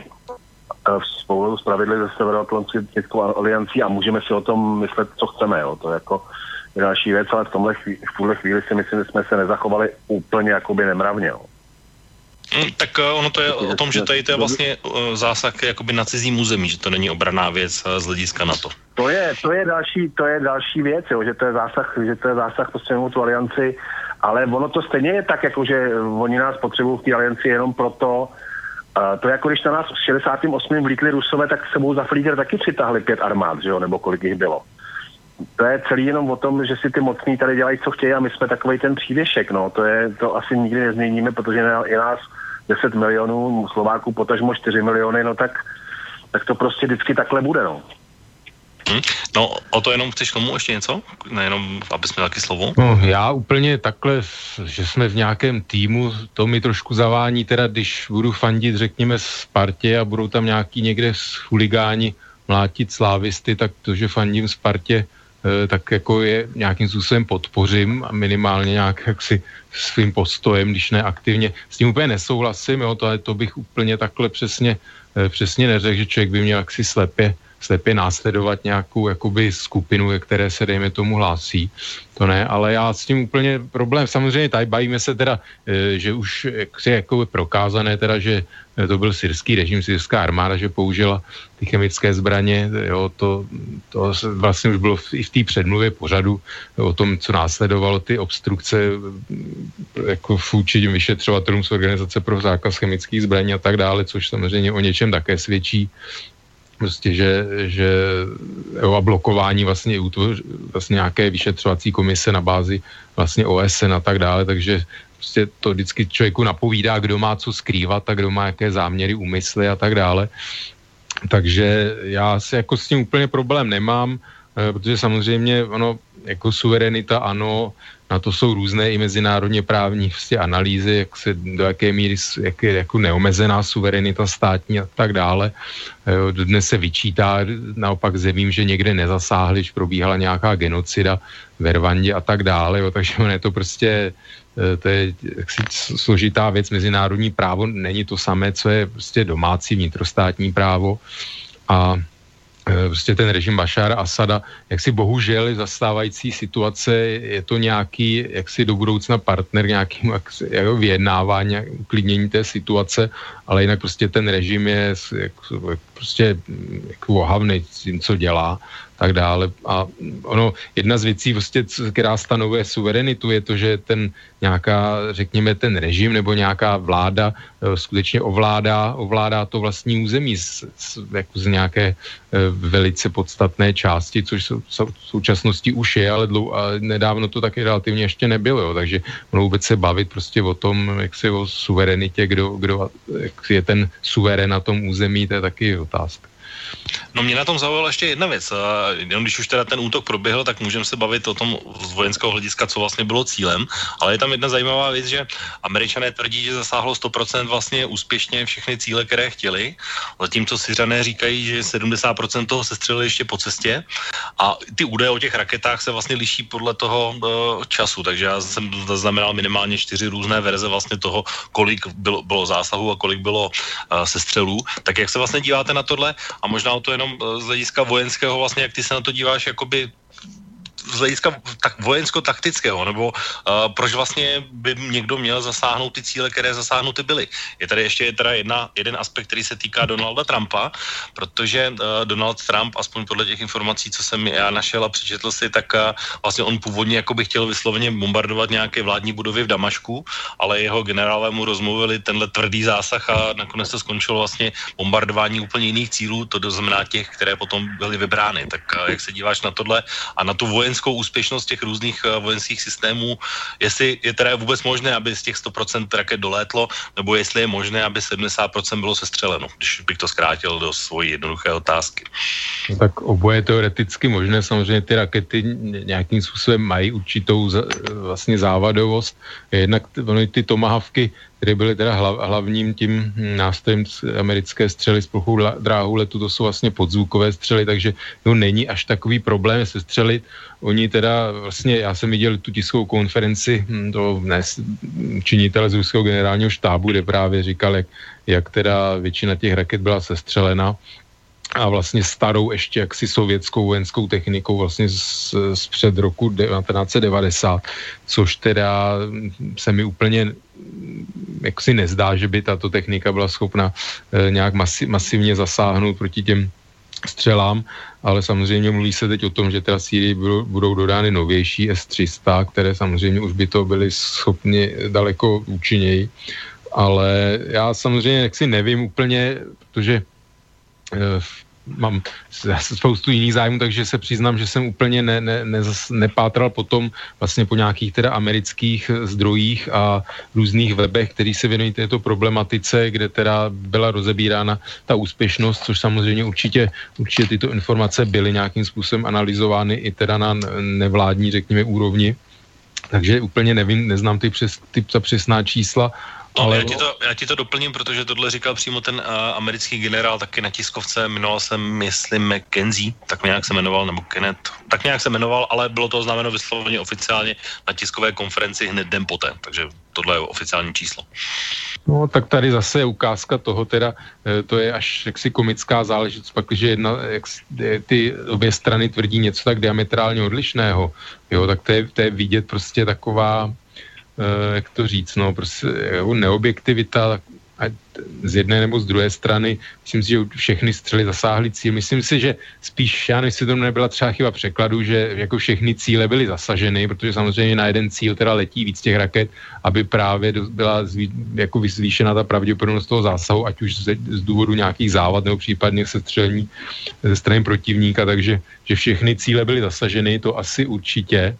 ze Severoatlantickou aliancí a můžeme si o tom myslet, co chceme, jo. To je jako další věc, ale v tuhle chvíli si myslím, že jsme se nezachovali úplně jakoby nemravně, jo. Tak ono to je o tom, že tady to je vlastně zásah jakoby na cizím území, že to není obranná věc z hlediska NATO. To je další věc, jo, že to je zásah prostě mimo tu alianci, ale ono to stejně je tak, jako že oni nás potřebují v té alianci jenom proto, to je jako když na nás v 68. vlítli Rusové, tak sebou za flíger taky přitahli 5 armád, že jo, nebo kolik jich bylo. To je celý jenom o tom, že si ty mocní tady dělají, co chtějí a my jsme takovej ten přívěšek, no, to asi nikdy nezměníme, protože je nás 10 milionů, Slováků potažmo 4 miliony, no tak to prostě vždycky takhle bude, no. No, o to jenom chceš tomu ještě něco? Nejenom, aby jsme taky slovo? No, já úplně takhle, že jsme v nějakém týmu, to mi trošku zavání, teda když budu fandit, řekněme, Spartě a budou tam nějaký někde chuligáni mlátit slávisty, tak to, že fandím Spartě, tak jako je nějakým způsobem podpořím a minimálně nějak jaksi svým postojem, když ne aktivně. S tím úplně nesouhlasím, jo, to bych úplně takhle přesně neřekl, že člověk by měl jaksi slepě následovat nějakou jakoby skupinu, které se dejme tomu hlásí. To ne, ale já s tím úplně problém. Samozřejmě tady bavíme se teda, že už je jako prokázané teda, že to byl syrský režim, syrská armáda, že použila ty chemické zbraně, jo, to vlastně už bylo i v té předmluvě pořadu o tom, co následovalo ty obstrukce jako vůči vyšetřovatelům z Organizace pro zákaz chemických zbraní a tak dále, což samozřejmě o něčem také svědčí. Prostě, že a blokování vlastně nějaké vyšetřovací komise na bázi vlastně OSN a tak dále, takže prostě to vždycky člověku napovídá, kdo má co skrývat a kdo má jaké záměry, úmysly a tak dále. Takže já si jako s tím úplně problém nemám, protože samozřejmě ono jako suverenita, ano, na to jsou různé i mezinárodně právní vlastně analýzy, jak se, do jaké míry jak je jako neomezená suverenita státní a tak dále. Dnes se vyčítá naopak zemím, že někde nezasáhli, že probíhala nějaká genocida v Rwandě a tak dále, jo, takže je to prostě to je jaksi složitá věc, mezinárodní právo není to samé, co je prostě domácí vnitrostátní právo a prostě ten režim Bašára Asada, jaksi bohužel zastávající situace, je to nějaký jaksi do budoucna partner, nějakým jako vyjednávání, uklidnění té situace, ale jinak prostě ten režim je prostě jako ohavný s tím, co dělá. tak dále. A ono, jedna z věcí, prostě, která stanovuje suverenitu, je to, že ten nějaká, řekněme, ten režim nebo nějaká vláda skutečně ovládá to vlastní území jako z nějaké velice podstatné části, což v současnosti už je, ale nedávno to taky relativně ještě nebylo, jo. Takže ono vůbec se bavit prostě o tom, jak se o suverenitě, kdo jak je ten suverén na tom území, to je taky otázka. No mě na tom zaujala ještě jedna věc. Jenom když už teda ten útok proběhl, tak můžeme se bavit o tom z vojenského hlediska, co vlastně bylo cílem, ale je tam jedna zajímavá věc, že Američané tvrdí, že zasáhlo 100% vlastně úspěšně všechny cíle, které chtěli, zatímco Syřané říkají, že 70% toho sestřelili ještě po cestě a ty údaje o těch raketách se vlastně liší podle toho času, takže já jsem zaznamenal minimálně 4 různé verze vlastně toho, kolik bylo zásahů a kolik bylo sestřelů. Tak jak se vlastně díváte na tohle a možná to jenom z hlediska vojenského vlastně, jak ty se na to díváš, jakoby z hlediska tak vojensko-taktického, nebo proč vlastně by někdo měl zasáhnout ty cíle, které zasáhnuty byly. Je tady ještě jeden aspekt, který se týká Donalda Trumpa, protože Donald Trump, aspoň podle těch informací, co jsem já našel a přečetl si, tak vlastně on původně jakoby chtěl vysloveně bombardovat nějaké vládní budovy v Damašku, ale jeho generálové mu rozmluvili tenhle tvrdý zásah a nakonec to skončilo vlastně bombardování úplně jiných cílů, to znamená těch, které potom byly vybrány. Tak jak se díváš na tohle a na tu vojenskou úspěšnost těch různých vojenských systémů, jestli je teda vůbec možné, aby z těch 100% raket dolétlo, nebo jestli je možné, aby 70% bylo sestřeleno, když bych to zkrátil do svojí jednoduché otázky. No tak oboje teoreticky možné, samozřejmě ty rakety nějakým způsobem mají určitou vlastně závadovost. Jednak ty tomahawky, které byly teda hlavním tím nástrojem americké střely s plochou dráhou letu, to jsou vlastně podzvukové střely, takže to není až takový problém se střelit. Oni teda vlastně, já jsem viděl tu tiskovou konferenci činitele z ruského generálního štábu, kde právě říkal, jak teda většina těch raket byla sestřelena a vlastně starou ještě jaksi sovětskou vojenskou technikou vlastně z před roku 1990, což teda se mi úplně jaksi nezdá, že by tato technika byla schopna nějak masivně zasáhnout proti těm střelám, ale samozřejmě mluví se teď o tom, že teda Sýrii budou dodány novější S-300, které samozřejmě už by to byly schopni daleko účinněji, ale já samozřejmě jaksi nevím úplně, protože mám spoustu jiných zájmů, takže se přiznám, že jsem úplně nepátral potom vlastně po nějakých teda amerických zdrojích a různých webech, který se věnují této problematice, kde teda byla rozebírána ta úspěšnost, což samozřejmě určitě tyto informace byly nějakým způsobem analyzovány i teda na nevládní, řekněme, úrovni. Takže úplně nevím, neznám ta přesná čísla. No, ale já ti to doplním, protože tohle říkal přímo ten americký generál taky na tiskovce, jmenoval se, myslím, McKenzie, tak nějak se jmenoval, nebo Kenneth, tak nějak se jmenoval, ale bylo to oznámeno vysloveně oficiálně na tiskové konferenci hned den poté, takže tohle je oficiální číslo. No, tak tady zase je ukázka toho, teda to je až jaksi komická záležitost, pak, že ty obě strany tvrdí něco tak diametrálně odlišného, jo, tak to je vidět prostě taková, jak to říct, no, prostě neobjektivita z jedné nebo z druhé strany. Myslím si, že všechny střely zasáhly cíl. Myslím si, že spíš, já nevím, jestli to nebyla třeba chyba překladu, že jako všechny cíle byly zasaženy, protože samozřejmě na jeden cíl teda letí víc těch raket, aby právě byla jako zvýšena ta pravděpodobnost toho zásahu, ať už z důvodu nějakých závad nebo případně sestřelení ze strany protivníka, takže že všechny cíle byly zasaženy, to asi určitě,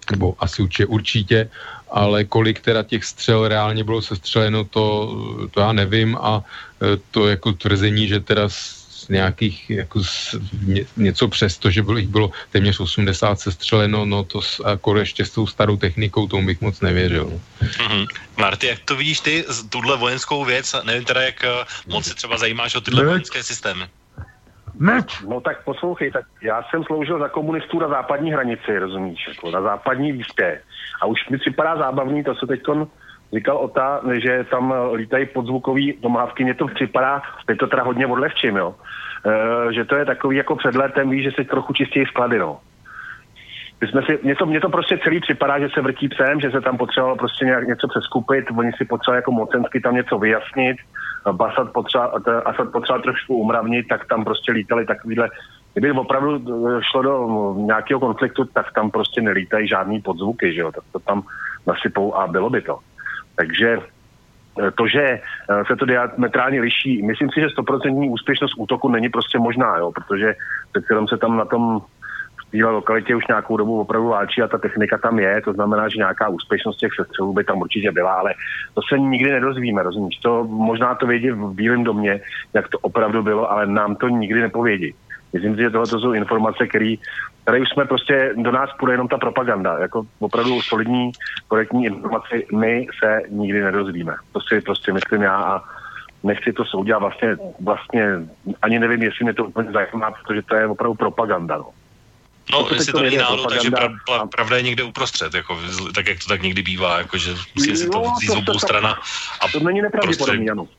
ale kolik teda těch střel reálně bylo sestřeleno, to já nevím a to jako tvrzení, že teda z nějakých jako něco přesto, že bylo téměř 80 sestřeleno, no to jako ještě s tou starou technikou, tomu bych moc nevěřil. Mm-hmm. Marty, jak to vidíš ty, tuhle vojenskou věc, nevím teda, jak moc se třeba zajímáš o tyhle vojenské systémy? No tak poslouchej, tak já jsem sloužil za komunistů na západní hranici, rozumíš, jako na západní výspě. A už mi připadá zábavný, to se teďkon říkal Ota, že tam lítají podzvukový tomahawky, mně to připadá, teď to teda hodně odlehčím, jo, že to je takový jako před letem, víš, že se trochu čistějí sklady, no. Mně to prostě celý připadá, že se vrtí psem, že se tam potřebovalo prostě něco přeskupit, oni si potřebovali jako mocensky tam něco vyjasnit, Asad potřeboval trošku umravnit, tak tam prostě lítali takovýhle kdyby opravdu šlo do nějakého konfliktu, tak tam prostě nelítají žádný podzvuky, že jo, tak to tam nasypou a bylo by to. Takže to, že se to diametrálně liší, myslím si, že 100% úspěšnost útoku není prostě možná, jo, protože přece jenom se tam na tom v téhle lokalitě už nějakou dobu opravdu válčí a ta technika tam je, to znamená, že nějaká úspěšnost těch sestřelů by tam určitě byla, ale to se nikdy nedozvíme, rozumíš? To možná to vědí v Bílém domě, jak to opravdu bylo, ale nám to nikdy nepovědí. Myslím si, že tohle to jsou informace, které už jsme prostě, do nás půjde jenom ta propaganda, jako opravdu solidní, korektní informace my se nikdy nedozvíme. To si prostě myslím já a nechci to soudit a vlastně ani nevím, jestli mě to úplně zajímá, protože to je opravdu propaganda, no. No, jestli to není náhodou, takže pravda je někde uprostřed, jako, tak jak to tak někdy bývá, jako, že musí si to vzít z obou strana. A to není nepravděpodobný, ano.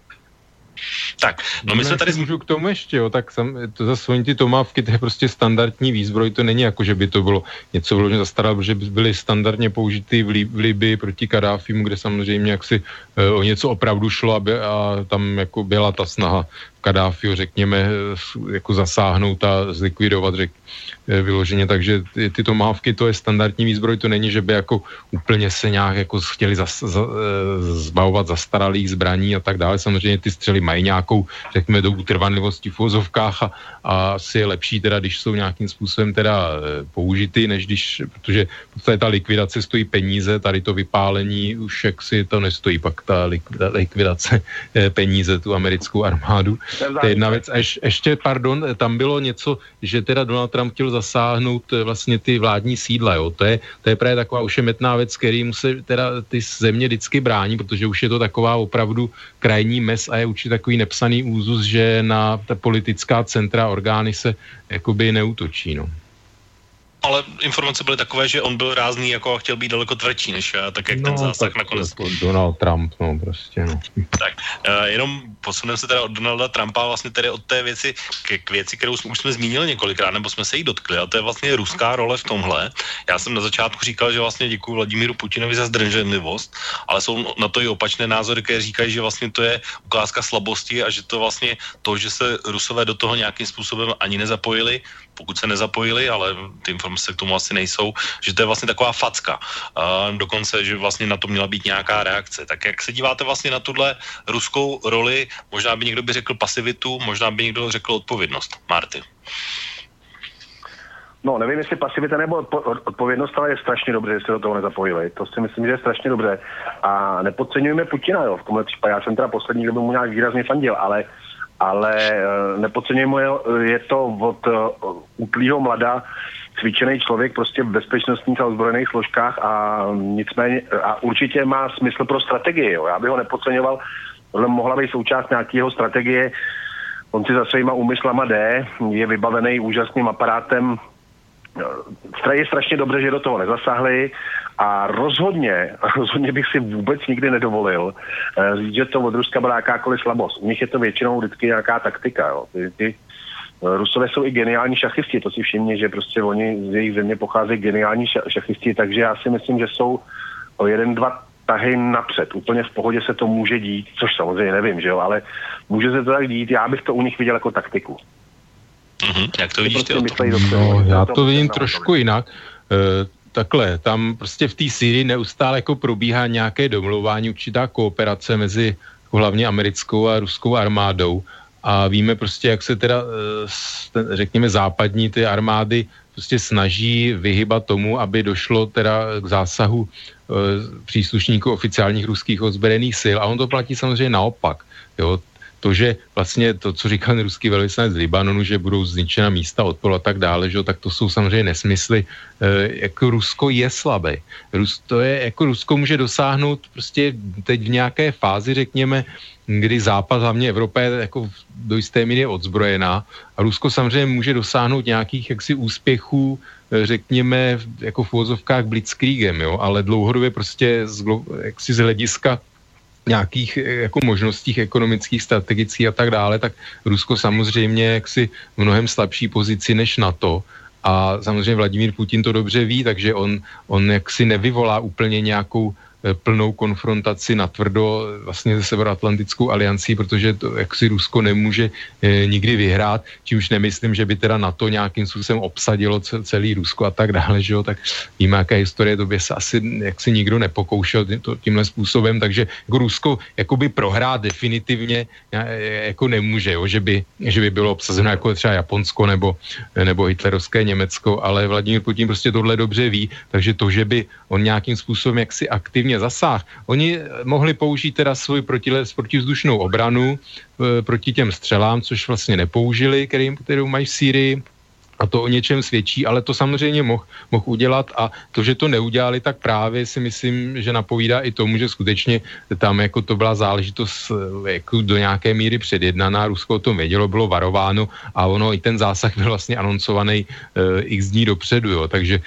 Tak, no my jsme tady... Můžu k tomu ještě, jo, tak to zase oni ty tomávky, to je prostě standardní výzbroj, to není jako, že by to bylo něco vložně zastaralé, protože by byly standardně použity v Libii proti Kadáfimu, kde samozřejmě jaksi o něco opravdu šlo a tam jako byla ta snaha Kadáfiho, řekněme, jako zasáhnout a zlikvidovat, vyloženě, takže ty tomávky, to je standardní výzbroj, to není, že by jako úplně se nějak jako chtěli zbavovat zastaralých zbraní a tak dále. Samozřejmě ty střely mají nějakou, řekněme, dobu trvanlivosti v uvozovkách a asi je lepší teda, když jsou nějakým způsobem teda použity, než když, protože ta likvidace stojí peníze, tady to vypálení už jaksi to nestojí, pak ta likvidace peníze, tu americkou armádu. To je jedna věc. A ještě, pardon, tam bylo něco, že teda Donald Trump chtěl zasáhnout vlastně ty vládní sídla, jo. To je právě taková ošemetná věc, kterým se teda ty země vždycky brání, protože už je to taková opravdu krajní mez a je určitě takový nepsaný úzus, že na ta politická centra orgány se jakoby neútočí, no. Ale informace byly takové, že on byl rázný jako a chtěl být daleko tvrdší, než tak jak ten zásah nakonec. Donald Trump, no prostě, no. Tak, jenom posuneme se teda od Donalda Trumpa vlastně tedy od té věci k věci, kterou už jsme zmínili několikrát, nebo jsme se jí dotkli, a to je vlastně ruská role v tomhle. Já jsem na začátku říkal, že vlastně děkuji Vladimíru Putinovi za zdrženlivost, ale jsou na to i opačné názory, které říkají, že vlastně to je ukázka slabosti a že to vlastně to, že se Rusové do toho nějakým způsobem ani nezapojili, pokud se nezapojili, ale ty informace k tomu asi nejsou, že to je vlastně taková facka. Dokonce, že vlastně na to měla být nějaká reakce. Tak jak se díváte vlastně na tuhle ruskou roli, možná by někdo by řekl pasivitu, možná by někdo řekl odpovědnost. Marty. No, nevím, jestli pasivita nebo odpovědnost, ale je strašně dobře, že se do toho nezapojili. To si myslím, že je strašně dobře. A nepodceňujeme Putina, jo, v tomhle případě. Já jsem teda poslední, kdo by mu nějak výrazně fandil, ale nepodceňujeme, je to od útlýho mlada cvičený člověk prostě v bezpečnostních a ozbrojených složkách a nicméně a určitě má smysl pro strategii. Jo. Já bych ho nepodceňoval, tohle mohla být součást nějakého strategie. On si za svýma úmyslama jde, je vybavený úžasným aparátem. Je strašně dobře, že do toho nezasáhli a rozhodně bych si vůbec nikdy nedovolil říct, že to od Ruska byla jakákoliv slabost. U nich je to většinou vždycky nějaká taktika. Jo. Ty Rusové jsou i geniální šachisti, to si všimně, že prostě oni z jejich země pocházejí geniální šachisti, takže já si myslím, že jsou o 1-2 tahy napřed. Úplně v pohodě se to může dít, což samozřejmě nevím, že jo, ale může se to tak dít, já bych to u nich viděl jako taktiku. Jak to vidíš ty? No, já to vidím trošku jinak. Takhle, tam prostě v té Sýrii neustále jako probíhá nějaké domlouvání, určitá kooperace mezi hlavně americkou a ruskou armádou a víme prostě, jak se teda, řekněme, západní ty armády prostě snaží vyhybat tomu, aby došlo teda k zásahu příslušníků oficiálních ruských ozbrojených sil a on to platí samozřejmě naopak, jo. To, že vlastně to, co říkal ten ruský velvyslanec z Libanonu, že budou zničena místa odporu a tak dále, že, tak to jsou samozřejmě nesmysly. Jako Rusko je slabé. Rusko může dosáhnout prostě teď v nějaké fázi, řekněme, kdy Západ, hlavně Evropa je jako do jisté míry odzbrojená a Rusko samozřejmě může dosáhnout nějakých jaksi úspěchů, řekněme, jako v uvozovkách blitzkriegem, jo, ale dlouhodobě prostě jaksi z hlediska nějakých jako možnostích ekonomických, strategických a tak dále, tak Rusko samozřejmě jaksi v mnohem slabší pozici než NATO a samozřejmě Vladimír Putin to dobře ví, takže on jaksi nevyvolá úplně nějakou plnou konfrontaci natvrdo vlastně se Severoatlantickou aliancí, protože to jaksi Rusko nemůže nikdy vyhrát, čímž nemyslím, že by teda NATO nějakým způsobem obsadilo celý Rusko a tak dále, že jo, tak víme, jaká historie, to by se asi jaksi nikdo nepokoušel tímhle způsobem, takže jako Rusko jakoby prohrát definitivně jako nemůže, jo, že by bylo obsazeno jako třeba Japonsko nebo hitlerovské Německo, ale Vladimír Putin prostě tohle dobře ví, takže to, že by on nějakým způsobem jaksi aktivně zasáhl. Oni mohli použít teda svou protivzdušnou obranu proti těm střelám, což vlastně nepoužili, kterou mají v Sýrii, a to o něčem svědčí, ale to samozřejmě mohl udělat a to, že to neudělali, tak právě si myslím, že napovídá i tomu, že skutečně tam jako to byla záležitost jako do nějaké míry předjednaná, Rusko o tom vědělo, bylo varováno a ono i ten zásah byl vlastně anoncovaný x dní dopředu, jo, takže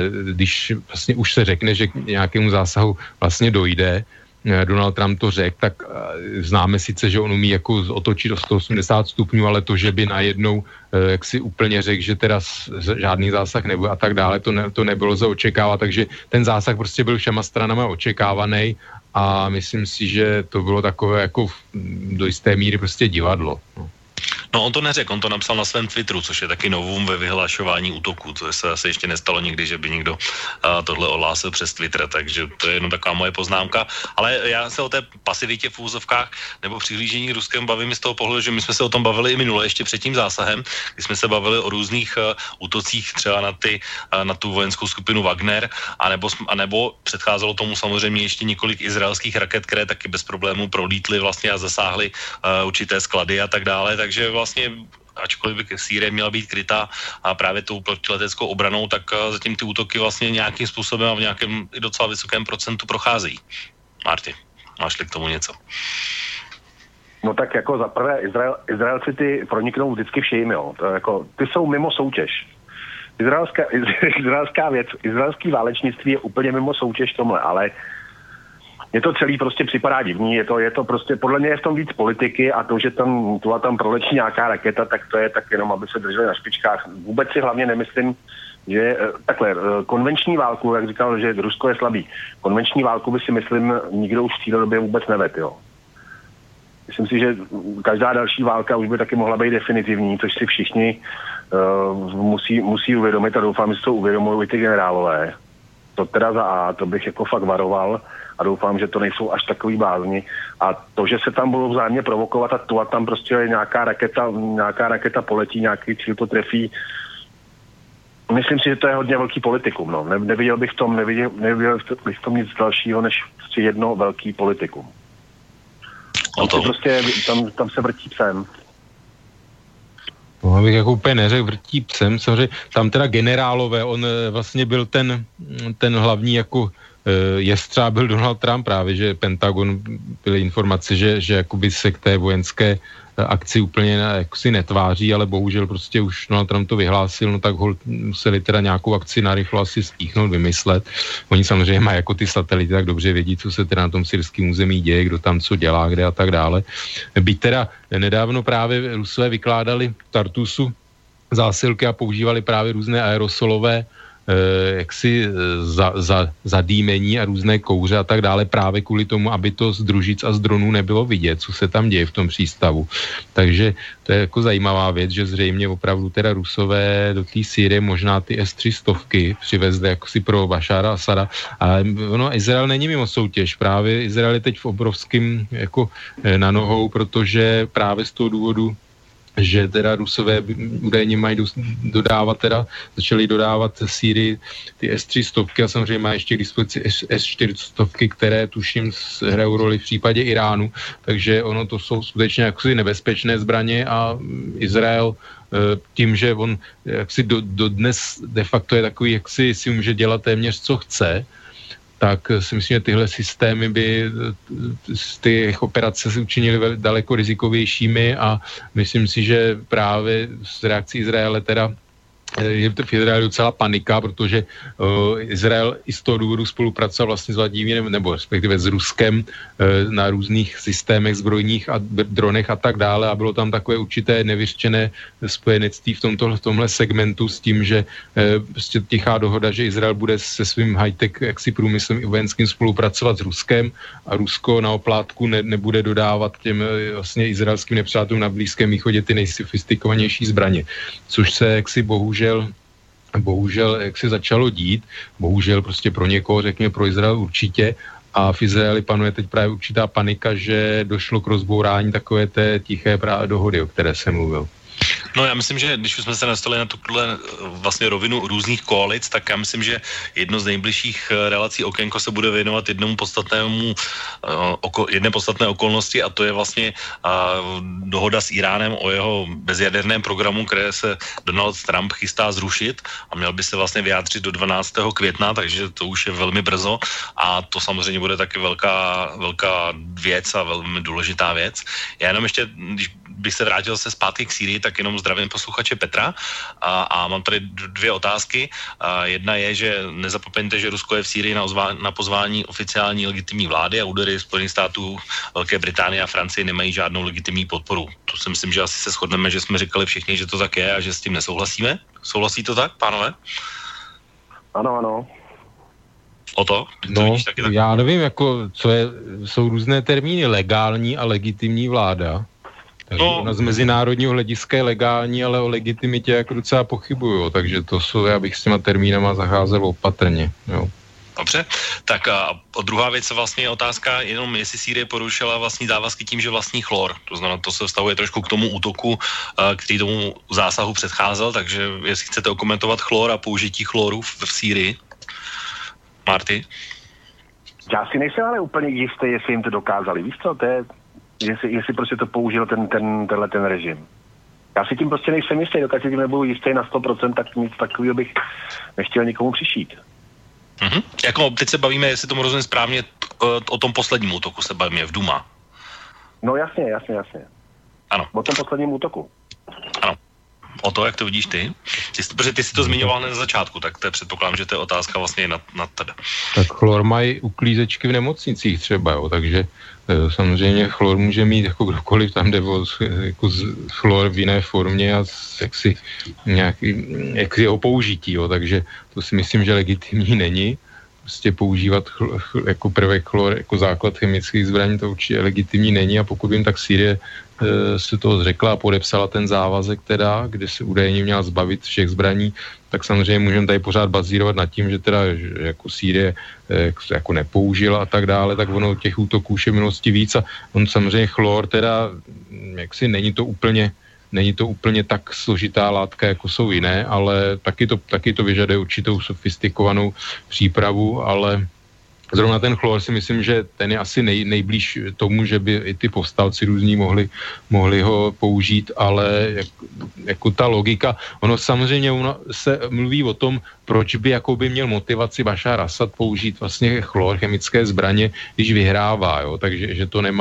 když vlastně už se řekne, že k nějakému zásahu vlastně dojde, Donald Trump to řekl, tak známe sice, že on umí jako otočit o 180 stupňů, ale to, že by najednou jak si úplně řekl, že teda žádný zásah nebude a tak dále, to nebylo za očekávat, takže ten zásah prostě byl všema stranama očekávaný a myslím si, že to bylo takové jako do jisté míry prostě divadlo. No on to neřekl, on to napsal na svém Twitteru, což je taky novum ve vyhlašování útoku. To se asi ještě nestalo nikdy, že by někdo tohle ohlásil přes Twitter, takže to je jenom taková moje poznámka. Ale já se o té pasivitě v úzovkách nebo přihlížení k Ruskému bavím z toho pohledu, že my jsme se o tom bavili i minule, ještě před tím zásahem, kdy jsme se bavili o různých útocích třeba na tu vojenskou skupinu Wagner, anebo předcházelo tomu samozřejmě ještě několik izraelských raket, které taky bez problémů prolítly vlastně a zasáhly určité sklady a tak dále, takže vlastně, ačkoliv by Sýrie měla být krytá a právě tou protileteckou obranou, tak zatím ty útoky vlastně nějakým způsobem a v nějakém i docela vysokém procentu procházejí. Marty, máš-li k tomu něco? No tak jako za prvé, Izraelci ty proniknou vždycky vším, jo. To jako, ty jsou mimo soutěž. Izraelská věc, izraelský válečnictví je úplně mimo soutěž tomhle, ale mně to celý prostě připadá divný, je to prostě, podle mě je v tom víc politiky a to, že tam proletí nějaká raketa, tak to je tak jenom, aby se drželi na špičkách. Vůbec si hlavně nemyslím, že takhle, konvenční válku, jak říkal, že Rusko je slabý, konvenční válku by si myslím nikdo už v této době vůbec neved, jo. Myslím si, že každá další válka už by taky mohla být definitivní, což si všichni musí uvědomit a doufám, že to uvědomují i ty generálové. To teda za A, to bych jako fakt varoval a doufám, že to nejsou až takový blázni. A to, že se tam budou vzájemně provokovat a tam prostě nějaká raketa poletí, nějaký cíl to trefí. Myslím si, že to je hodně velký politikum. No. Neviděl bych v tom nic dalšího, než prostě jedno velký politikum. Tam se vrtí psem. No, abych jako úplně neřekl, vrtí psem, samozřejmě, tam teda generálové, on vlastně byl ten hlavní jako jestřáb byl Donald Trump právě, že Pentagon byly informace, že jakoby se k té vojenské akci úplně jako si netváří, ale bohužel prostě už Donald Trump to vyhlásil, no tak museli teda nějakou akci narychlo asi stíchnout, vymyslet. Oni samozřejmě mají jako ty satelity, tak dobře vědí, co se teda na tom syrském území děje, kdo tam co dělá, kde a tak dále. Byť teda nedávno právě Rusové vykládali v Tartusu zásilky a používali právě různé aerosolové jaksi zadýmení a různé kouře a tak dále právě kvůli tomu, aby to z družic a z dronů nebylo vidět, co se tam děje v tom přístavu. Takže to je jako zajímavá věc, že zřejmě opravdu teda Rusové do té Sýrie možná ty S-300 přivezli jako si pro Bašára Asada. A ono, Izrael není mimo soutěž. Právě Izrael je teď v obrovským jako na nohou, protože právě z toho důvodu, že teda Rusové údajně mají začali dodávat Sýrii ty S-300 a samozřejmě má ještě k dispozici S-400, které tuším hrajou roli v případě Iránu, takže ono to jsou skutečně jaksi nebezpečné zbraně a Izrael tím, že on jaksi dodnes de facto je takový, jaksi si může dělat téměř co chce, tak si myslím, že tyhle systémy by ty operace se učinily daleko rizikovějšími a myslím si, že právě z reakcí Izraele teda je v Izraeli docela panika, protože Izrael i z toho důvodu spolupracoval vlastně s Vladimírem, nebo respektive s Ruskem na různých systémech zbrojních a dronech a tak dále a bylo tam takové určité nevyřčené spojenectví v tomhle segmentu s tím, že prostě tichá dohoda, že Izrael bude se svým high-tech jaksi průmyslem i vojenským spolupracovat s Ruskem a Rusko na oplátku nebude dodávat těm vlastně izraelským nepřátelům na Blízkém východě ty nejsofistikovanější zbraně, což se jaksi bohužel jak se začalo dít, bohužel prostě pro někoho, řekněme pro Izrael určitě, a v Izraeli panuje teď právě určitá panika, že došlo k rozbourání takové té tiché dohody, o které jsem mluvil. No já myslím, že když jsme se dostali na tuhle vlastně rovinu různých koalic, tak já myslím, že jedno z nejbližších relací Okénko se bude věnovat jedné podstatné okolnosti a to je vlastně dohoda s Iránem o jeho bezjaderném programu, které se Donald Trump chystá zrušit a měl by se vlastně vyjádřit do 12. května, takže to už je velmi brzo a to samozřejmě bude taky velká věc a velmi důležitá věc. Já jenom ještě, když bych se vrátil se zpátky k Sýrii, tak jenom zdravím posluchače Petra a mám tady dvě otázky. Jedna je, že nezapomeňte, že Rusko je v Sýrii na pozvání oficiální legitimní vlády a údery Spojených států, Velké Británie a Francie nemají žádnou legitimní podporu. To si myslím, že asi se shodneme, že jsme říkali všichni, že to tak je a že s tím nesouhlasíme. Souhlasí to tak, pánové? Ano. O to? No, já nevím, jsou různé termíny, legální a legitimní vláda. Takže ona z mezinárodního hlediska je legální, ale o legitimitě jako docela pochybuju, takže to jsou, já bych s těma termínama zacházel opatrně, jo. Dobře, tak a druhá věc vlastně je otázka, jenom jestli Sýrie porušila vlastní závazky tím, že vlastní chlor. To znamená, to se vztahuje trošku k tomu útoku, který tomu zásahu předcházel, takže jestli chcete okomentovat chlor a použití chloru v Sýrii. Marty? Já si nejsem ale úplně jistý, jestli jim to dokázali. Víš co, to je... Jestli prostě to použil ten režim. Já si tím prostě nejsem jistý, dokud si tím nebudu jistý na 100%, tak nic takového bych nechtěl nikomu přišít. Mm-hmm. Jako teď se bavíme, jestli tomu rozumím správně, o tom posledním útoku se bavíme v Duma. No jasně. Ano. O tom posledním útoku. Ano. O to, jak to vidíš ty? Protože ty jsi to zmiňoval na začátku, tak to je předpokládám, že to je otázka vlastně na tebe. Tak chlor mají uklízečky v nemocnicích třeba, jo, takže samozřejmě chlor může mít jako kdokoliv tam jde jako chlor v jiné formě a jaksi jeho použití, jo, takže to si myslím, že legitimní není. Prostě používat jako prvek chlor jako základ chemických zbraní, to určitě legitimní není a pokud vím, tak Sýrie se toho zřekla a podepsala ten závazek teda, kde se údajně měla zbavit všech zbraní, tak samozřejmě můžeme tady pořád bazírovat nad tím, že teda že jako Sýrie jako nepoužila a tak dále, tak ono těch útoků už je v minulosti víc a on samozřejmě chlor teda, jaksi není to úplně tak složitá látka, jako jsou jiné, ale taky to vyžaduje určitou sofistikovanou přípravu, ale zrovna ten chlor si myslím, že ten je asi nejblíž tomu, že by i ty povstalci různí mohli ho použít, ale jako ta logika, ono samozřejmě se mluví o tom, proč by jakoby měl motivaci Bašar Asad použít vlastně chlor, chemické zbraně, když vyhrává, jo, takže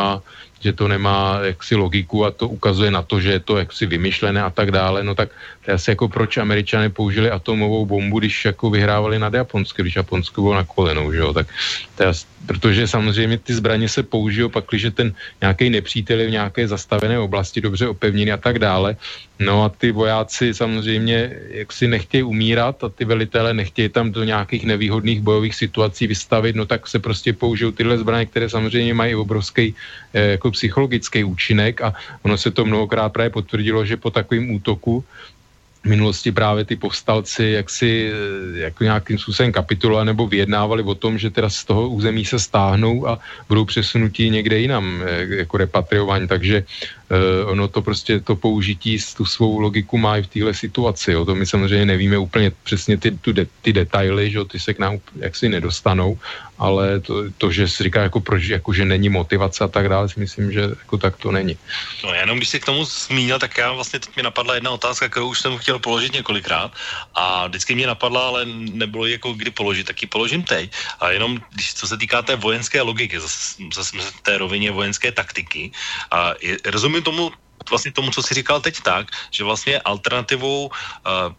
že to nemá jaksi logiku a to ukazuje na to, že je to jaksi vymyšlené a tak dále, no tak to je asi jako proč Američané použili atomovou bombu, když jako vyhrávali nad Japonskem, když Japonsko bylo na kolenou, že jo, tak to je, protože samozřejmě ty zbraně se použijou pak, když ten nějaký nepřítel je v nějaké zastavené oblasti dobře opevněný a tak dále, no a ty vojáci samozřejmě jaksi nechtějí umírat a ty velitelé nechtějí tam do nějakých nevýhodných bojových situací vystavit, no tak se prostě použijou tyhle zbraně, které samozřejmě mají obrovský jako psychologický účinek a ono se to mnohokrát právě potvrdilo, že po takovém útoku v minulosti právě ty povstalci jaksi jako nějakým způsobem kapitulovali nebo vyjednávali o tom, že teda z toho území se stáhnou a budou přesunutí někde jinam jako repatriování, takže ono to prostě to použití tu svou logiku má i v téhle situaci, jo. To my samozřejmě nevíme úplně přesně ty detaily, že ty se k nám jaksi nedostanou, ale to že si říká jako proč, jako že není motivace a tak dále, si myslím, že jako tak to není. No jenom když si k tomu zmínil, tak já vlastně teď mi napadla jedna otázka, kterou už jsem chtěl položit několikrát a vždycky mě napadla, ale nebylo jako kdy položit, tak ji položím teď. A jenom co se týká té vojenské logiky, zase v té rovině vojenské taktiky, a rozumím tomu, co jsi říkal teď tak, že vlastně alternativou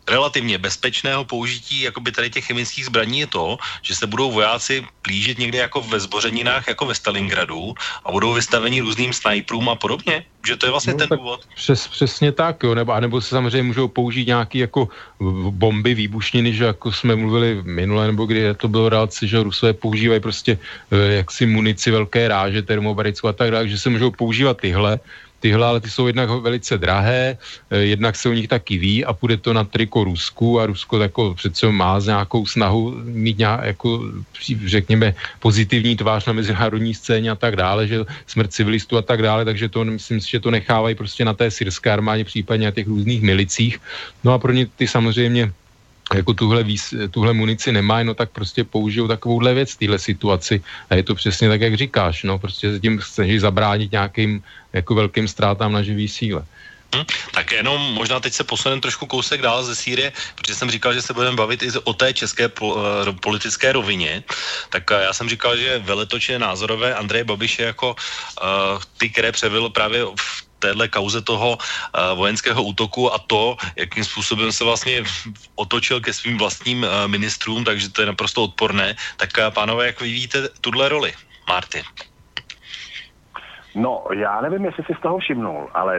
relativně bezpečného použití jakoby tady těch chemických zbraní je to, že se budou vojáci plížit někde jako ve zbořeninách, jako ve Stalingradu a budou vystaveni různým snajprům a podobně? Že to je vlastně ten důvod? Přesně tak, jo, nebo se samozřejmě můžou použít nějaký jako bomby, výbušniny, že jako jsme mluvili minule, nebo kdy to bylo relaci, že Rusové používají prostě jaksi munici velké ráže, termobarickou a tak dále, že se můžou používat tyhle, ale ty jsou jednak velice drahé, jednak se o nich taky ví a půjde to na triko Rusku a Rusko jako přece má nějakou snahu mít jako, řekněme, pozitivní tvář na mezinárodní scéně a tak dále, že smrt civilistů a tak dále, takže to myslím si, že to nechávají prostě na té syrské armádě, případně na těch různých milicích. No a pro ně ty samozřejmě jako tuhle munici nemají, no tak prostě použijou takovouhle věc v téhle situaci a je to přesně tak, jak říkáš, no prostě se tím chceš zabránit nějakým jako velkým ztrátám na živý síle. Tak jenom možná teď se posuneme trošku kousek dál ze Sýrie, protože jsem říkal, že se budeme bavit i o té české politické rovině, tak já jsem říkal, že veletoče názorové Andreje Babiše jako ty, které převil právě v téhle kauze toho vojenského útoku a to, jakým způsobem se vlastně otočil ke svým vlastním ministrům, takže to je naprosto odporné. Tak pánové, jak vy vidíte tuhle roli? Martin. No, já nevím, jestli si z toho všimnul, ale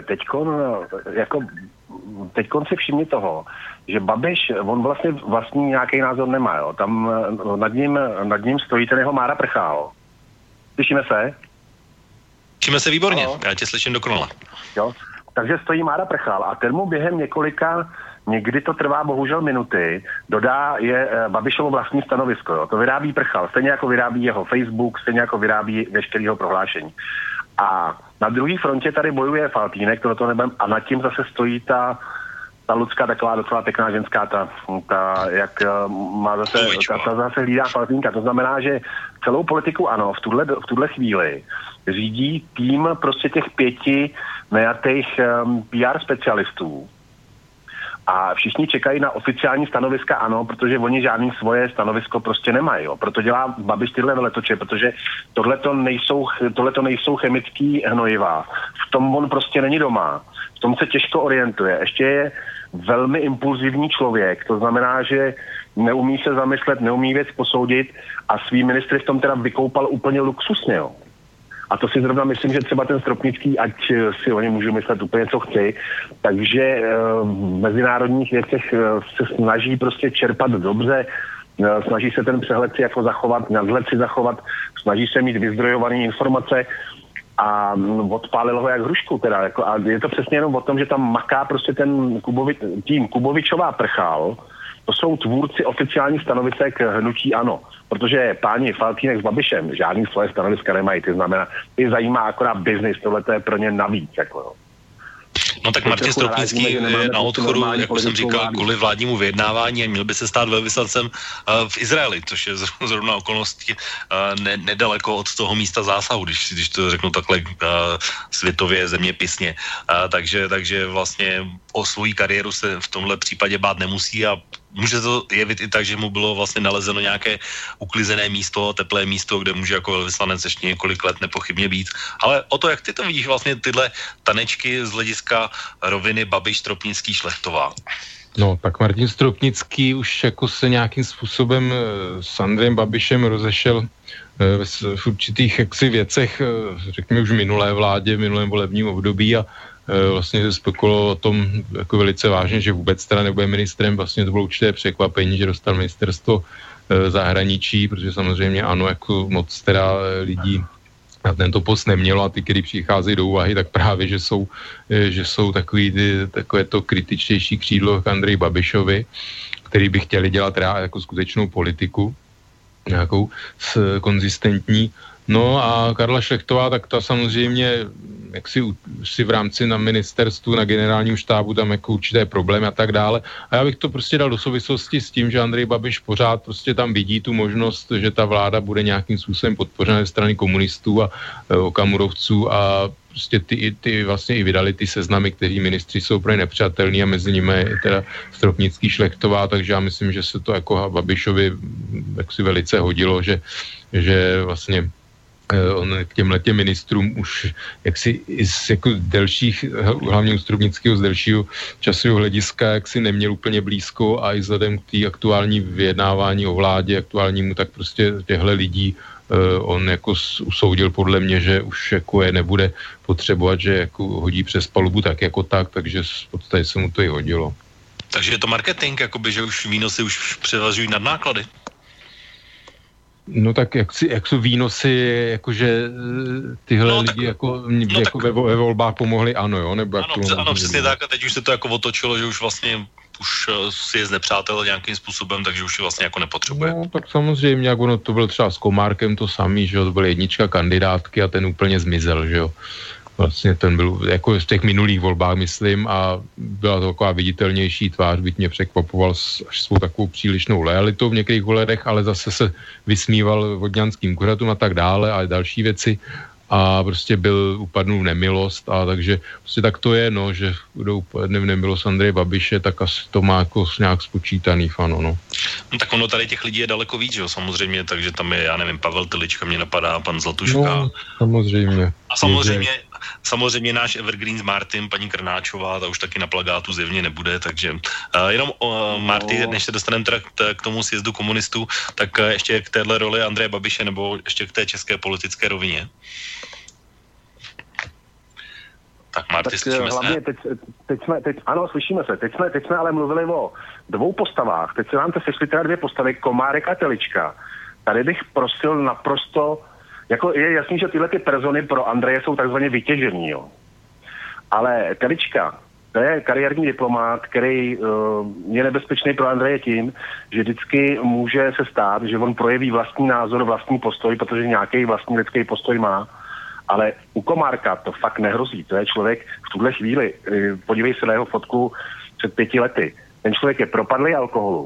teďkon si všimni toho, že Babiš, on vlastně vlastní nějaký názor nemá, jo. Tam nad ním stojí ten jeho Mára Prchal. Slyšíme se? Slyšíme se výborně, já tě slyším dokonale. Jo, takže stojí Mára Prchal a ten mu během někdy to trvá bohužel minuty, dodá je Babišovo vlastní stanovisko, jo. To vyrábí Prchal, stejně jako vyrábí jeho Facebook, stejně jako vyrábí veškerého prohlášení. A na druhé frontě tady bojuje Faltýnek, to nebem, a nad tím zase stojí ta Lucka, taková docela pěkná ženská, ta jak má zase, ta zase hlídá Faltýnka. To znamená, že celou politiku ano, v tuhle chvíli řídí tým prostě těch 5 najatých PR specialistů. A všichni čekají na oficiální stanoviska ano, protože oni žádný svoje stanovisko prostě nemají. Jo. Proto dělá Babiš tyhle veletoče, protože tohleto nejsou chemický hnojiva. V tom on prostě není doma. V tom se těžko orientuje. Ještě je velmi impulzivní člověk. To znamená, že neumí se zamyslet, neumí věc posoudit a svý ministry v tom teda vykoupal úplně luxusně. Jo. A to si zrovna myslím, že třeba ten Stropnický, ať si o něm můžu myslet úplně co chci, takže v mezinárodních věcech se snaží prostě čerpat dobře, snaží se ten přehled si jako zachovat, nadhled si zachovat, snaží se mít vyzdrojované informace a odpálil ho jak hrušku teda. Jako, a je to přesně jenom o tom, že tam maká prostě ten tým Kubovičová Prchal, to jsou tvůrci oficiálních stanovisek hnutí ANO, protože páni Faltýnek s Babišem žádný svoje stanoviska nemají, to znamená, ty zajímá akorát biznis, tohle to je pro ně navíc, jako. No tak Martin Stropnický je na odchodu, jak jsem říkal, kvůli vládnímu vyjednávání a měl by se stát velvyslancem v Izraeli, což je zrovna okolností nedaleko od toho místa zásahu, když to řeknu takhle světově zeměpisně. Takže vlastně o svoji kariéru se v tomhle případě bát nemusí a může to jevit i tak, že mu bylo vlastně nalezeno nějaké uklizené místo, teplé místo, kde může jako velvyslanec ještě několik let nepochybně být. Ale o to, jak ty to vidíš vlastně tyhle tanečky z hlediska roviny Babiš, Stropnický, Šlechtová? No, tak Martin Stropnický už jako se nějakým způsobem s Andrejem Babišem rozešel v určitých jaksi věcech, řekněme už v minulé vládě, v minulém volebním období a vlastně se spekulovalo o tom jako velice vážně, že vůbec teda nebude ministrem, vlastně to bylo určité překvapení, že dostal ministerstvo zahraničí, protože samozřejmě ano, jako moc teda lidí na tento post nemělo a ty, který přicházejí do úvahy, tak právě, že jsou takové to kritičtější křídlo k Andreji Babišovi, který by chtěli dělat jako skutečnou politiku, nějakou konzistentní. No a Karla Šlechtová, tak ta samozřejmě jak si v rámci na ministerstvu, na generálním štábu tam jako určité problémy a tak dále. A já bych to prostě dal do souvislosti s tím, že Andrej Babiš pořád prostě tam vidí tu možnost, že ta vláda bude nějakým způsobem podpořena ze strany komunistů a okamurovců a prostě ty vlastně i vydali ty seznamy, kteří ministři jsou pro ně nepřijatelní a mezi nimi je teda Stropnický, Šlechtová, takže já myslím, že se to jako Babišovi jaksi velice hodilo, že vlastně on k těmhletěm ministrům už jaksi jako delších, hlavně u Stropnického z delšího časového hlediska, jaksi neměl úplně blízko a i vzhledem k té aktuální vyjednávání o vládě aktuálnímu, tak prostě těchto lidí on jako usoudil podle mě, že už jako je nebude potřebovat, že jako hodí přes palubu tak jako tak, takže v podstatě se mu to i hodilo. Takže je to marketing, jakoby, že už výnosy už převažují nad náklady? No tak jak jsou výnosy, jakože tyhle lidi jako ve volbách pomohli, ano jo? Nebo ano, přesně tak a teď už se to jako otočilo, že už vlastně už si je znepřátel nějakým způsobem, takže už je vlastně jako nepotřebuje. No tak samozřejmě, jak ono to bylo třeba s Komárkem to samý, že jo, to byla jednička kandidátky a ten úplně zmizel, že jo. Vlastně ten byl jako v těch minulých volbách, myslím, a byla to taková viditelnější tvář, byť mě překvapoval až svou takovou přílišnou loajalitou v některých ohledech, ale zase se vysmíval vodňanským kuřatům a tak dále a další věci a prostě upadnul v nemilost a takže prostě tak to je, no, že kdo upadne v nemilost Andreje Babiše, tak asi to má jako nějak spočítaný fano, no. No tak ono tady těch lidí je daleko víc, jo, samozřejmě, takže tam je, já nevím, Pavel Telička mě napadá, pan Zlatuška. No, samozřejmě. A samozřejmě náš evergreen s Martin, paní Krnáčová, ta už taky na plagátu zjevně nebude, takže jenom Marty, než se dostaneme k tomu sjezdu komunistů, tak ještě k téhle roli Andreje Babiše nebo ještě k té české politické rovině. Tak Marty, slyšíme se? Ano, slyšíme se. Teď jsme ale mluvili o dvou postavách. Teď se nám to sešly teda dvě postavy, Komárek a Telička. Tady bych prosil naprosto, jako je jasný, že tyhle ty persony pro Andreje jsou takzvaně vytěžený, jo. Ale Telička, to je kariérní diplomát, který je nebezpečný pro Andreje tím, že vždycky může se stát, že on projeví vlastní názor, vlastní postoj, protože nějaký vlastní lidský postoj má. Ale u Komárka to fakt nehrozí. To je člověk v tuhle chvíli, podívej se na jeho fotku před 5 lety. Ten člověk je propadlý alkoholu.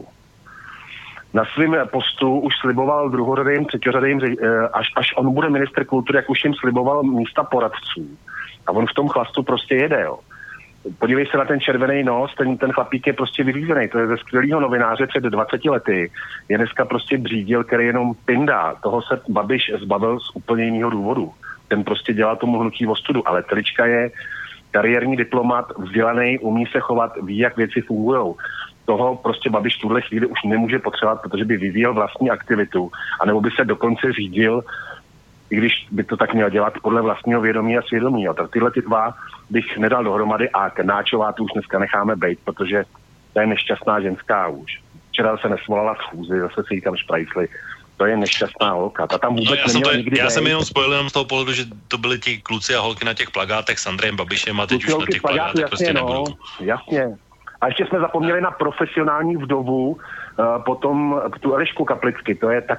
Na svém postu už sliboval druhořadým, třetiořadým, až on bude ministr kultury, jak už jim sliboval místa poradců. A on v tom chlastu prostě jede, jo. Podívej se na ten červený nos, ten chlapík je prostě vyřízený. To je ze skvělého novináře před 20 lety. Je dneska prostě břídil, který jenom pindá. Toho se Babiš zbavil z úplně jiného důvodu. Ten prostě dělá tomu hnutí ostudu, ale Telička je kariérní diplomat, vzdělaný, umí se chovat, ví, jak věci fungujou. Toho prostě Babiš v tuhle chvíli už nemůže potřebovat, protože by vyvíjel vlastní aktivitu, anebo by se dokonce řídil, i když by to tak měl dělat podle vlastního vědomí a svědomí. Jo. Tak tyhle ty dva bych nedal dohromady a Krnáčová tu už dneska necháme bejt, protože to je nešťastná ženská už. Včera se nesvolala schůzi, zase si jí tam šprajsli. To je nešťastná holka. Ta tam vůbec neměla nikdy já jsem jenom spojil jenom z toho pohledu, že to byly ti kluci a holky na těch plagátech s Andrejem Babišem a teď už na těch plagátech prostě nebudou. Jasně. A ještě jsme zapomněli na profesionální vdovu, potom tu Elišku Kaplicky, to je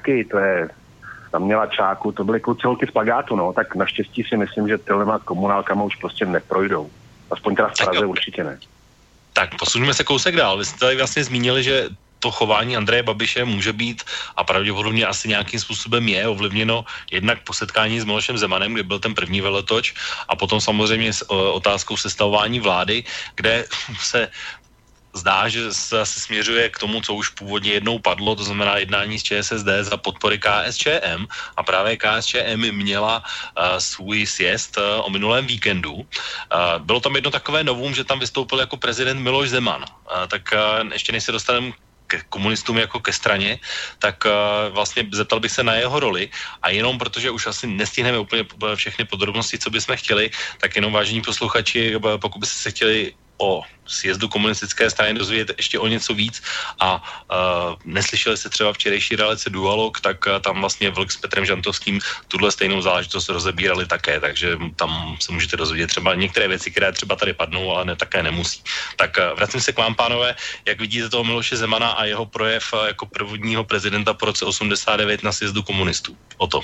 tam měla čáku, to byly kluci holky z plagátu, no, tak naštěstí si myslím, že tyhle komunálkama už prostě neprojdou. Aspoň teda v Praze určitě ne. Tak posuňme se kousek dál. Vy jste tady vlastně zmínili, že to chování Andreje Babiše může být a pravděpodobně asi nějakým způsobem je ovlivněno jednak po setkání s Milošem Zemanem, kde byl ten první veletoč, a potom samozřejmě s otázkou sestavování vlády, kde se zdá, že se asi směřuje k tomu, co už původně jednou padlo, to znamená jednání s ČSSD za podpory KSČM, a právě KSČM měla svůj sjezd o minulém víkendu. Bylo tam jedno takové novum, že tam vystoupil jako prezident Miloš Zeman. Tak ještě než se dostaneme k komunistům jako ke straně, tak vlastně zeptal bych se na jeho roli a jenom protože už asi nestihneme úplně všechny podrobnosti, co bychom chtěli, tak jenom vážení posluchači, pokud byste se chtěli o sjezdu komunistické strany dozvědět ještě o něco víc a neslyšeli jste třeba včerejší relace Dualog, tak tam vlastně Vlk s Petrem Žantovským tuhle stejnou záležitost rozebírali také, takže tam se můžete dozvědět třeba některé věci, které třeba tady padnou, ale také nemusí. Tak vracím se k vám, pánové, jak vidíte toho Miloše Zemana a jeho projev jako prvního prezidenta po roce 89 na sjezdu komunistů. O to.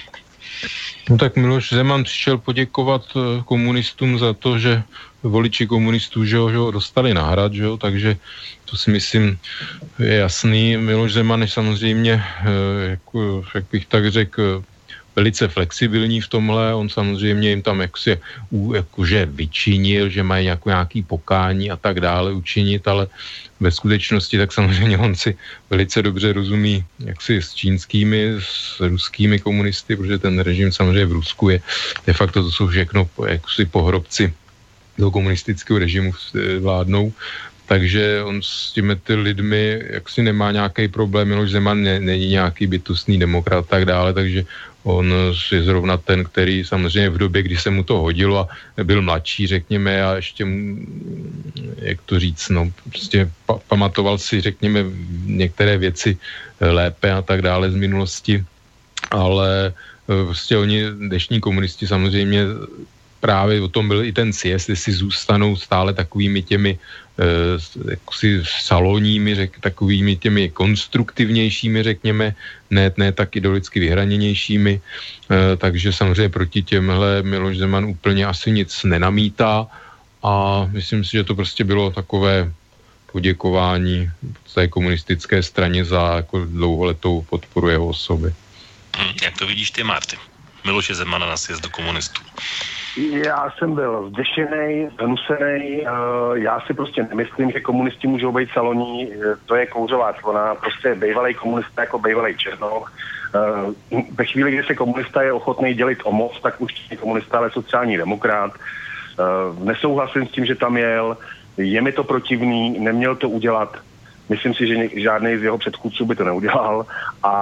No tak Miloš Zeman přišel poděkovat komunistům za to, že voliči komunistů, že ho dostali na hrad, že jo, takže to si myslím je jasný. Miloš Zeman je samozřejmě, jak bych tak řekl, velice flexibilní v tomhle, on samozřejmě jim tam jakože vyčinil, že mají nějaký pokání a tak dále učinit, ale ve skutečnosti tak samozřejmě on si velice dobře rozumí jaksi s čínskými, s ruskými komunisty, protože ten režim samozřejmě v Rusku je de facto to jsou všechno jaksi pohrobci toho komunistického režimu vládnou, takže on s těmi ty lidmi jaksi nemá nějaký problém, Miloš Zeman není nějaký bytostný demokrat a tak dále, takže on je zrovna ten, který samozřejmě v době, kdy se mu to hodilo a byl mladší, řekněme, a ještě, jak to říct, no, prostě pamatoval si, řekněme, některé věci lépe a tak dále z minulosti, ale prostě oni, dnešní komunisti samozřejmě právě o tom byl i ten sjezd, jestli zůstanou stále takovými těmi jaksi salonními, takovými těmi konstruktivnějšími, řekněme, ne tak ideologicky vyhraněnější, takže samozřejmě proti těmhle Miloš Zeman úplně asi nic nenamítá a myslím si, že to prostě bylo takové poděkování té komunistické straně za jako dlouholetou podporu jeho osoby. Jak to vidíš ty, Marty? Miloše Zemana na sjezdu komunistů. Já jsem byl zděšený, znusený, já si prostě nemyslím, že komunisti můžou být saloní, to je kouřová clona, prostě bejvalej komunista jako bejvalej Černoch. Ve chvíli, kdy se komunista je ochotný dělit o moc, tak už není komunista, ale sociální demokrat. Nesouhlasím s tím, že tam jel, je mi to protivný, neměl to udělat, myslím si, že žádný z jeho předchůdců by to neudělal a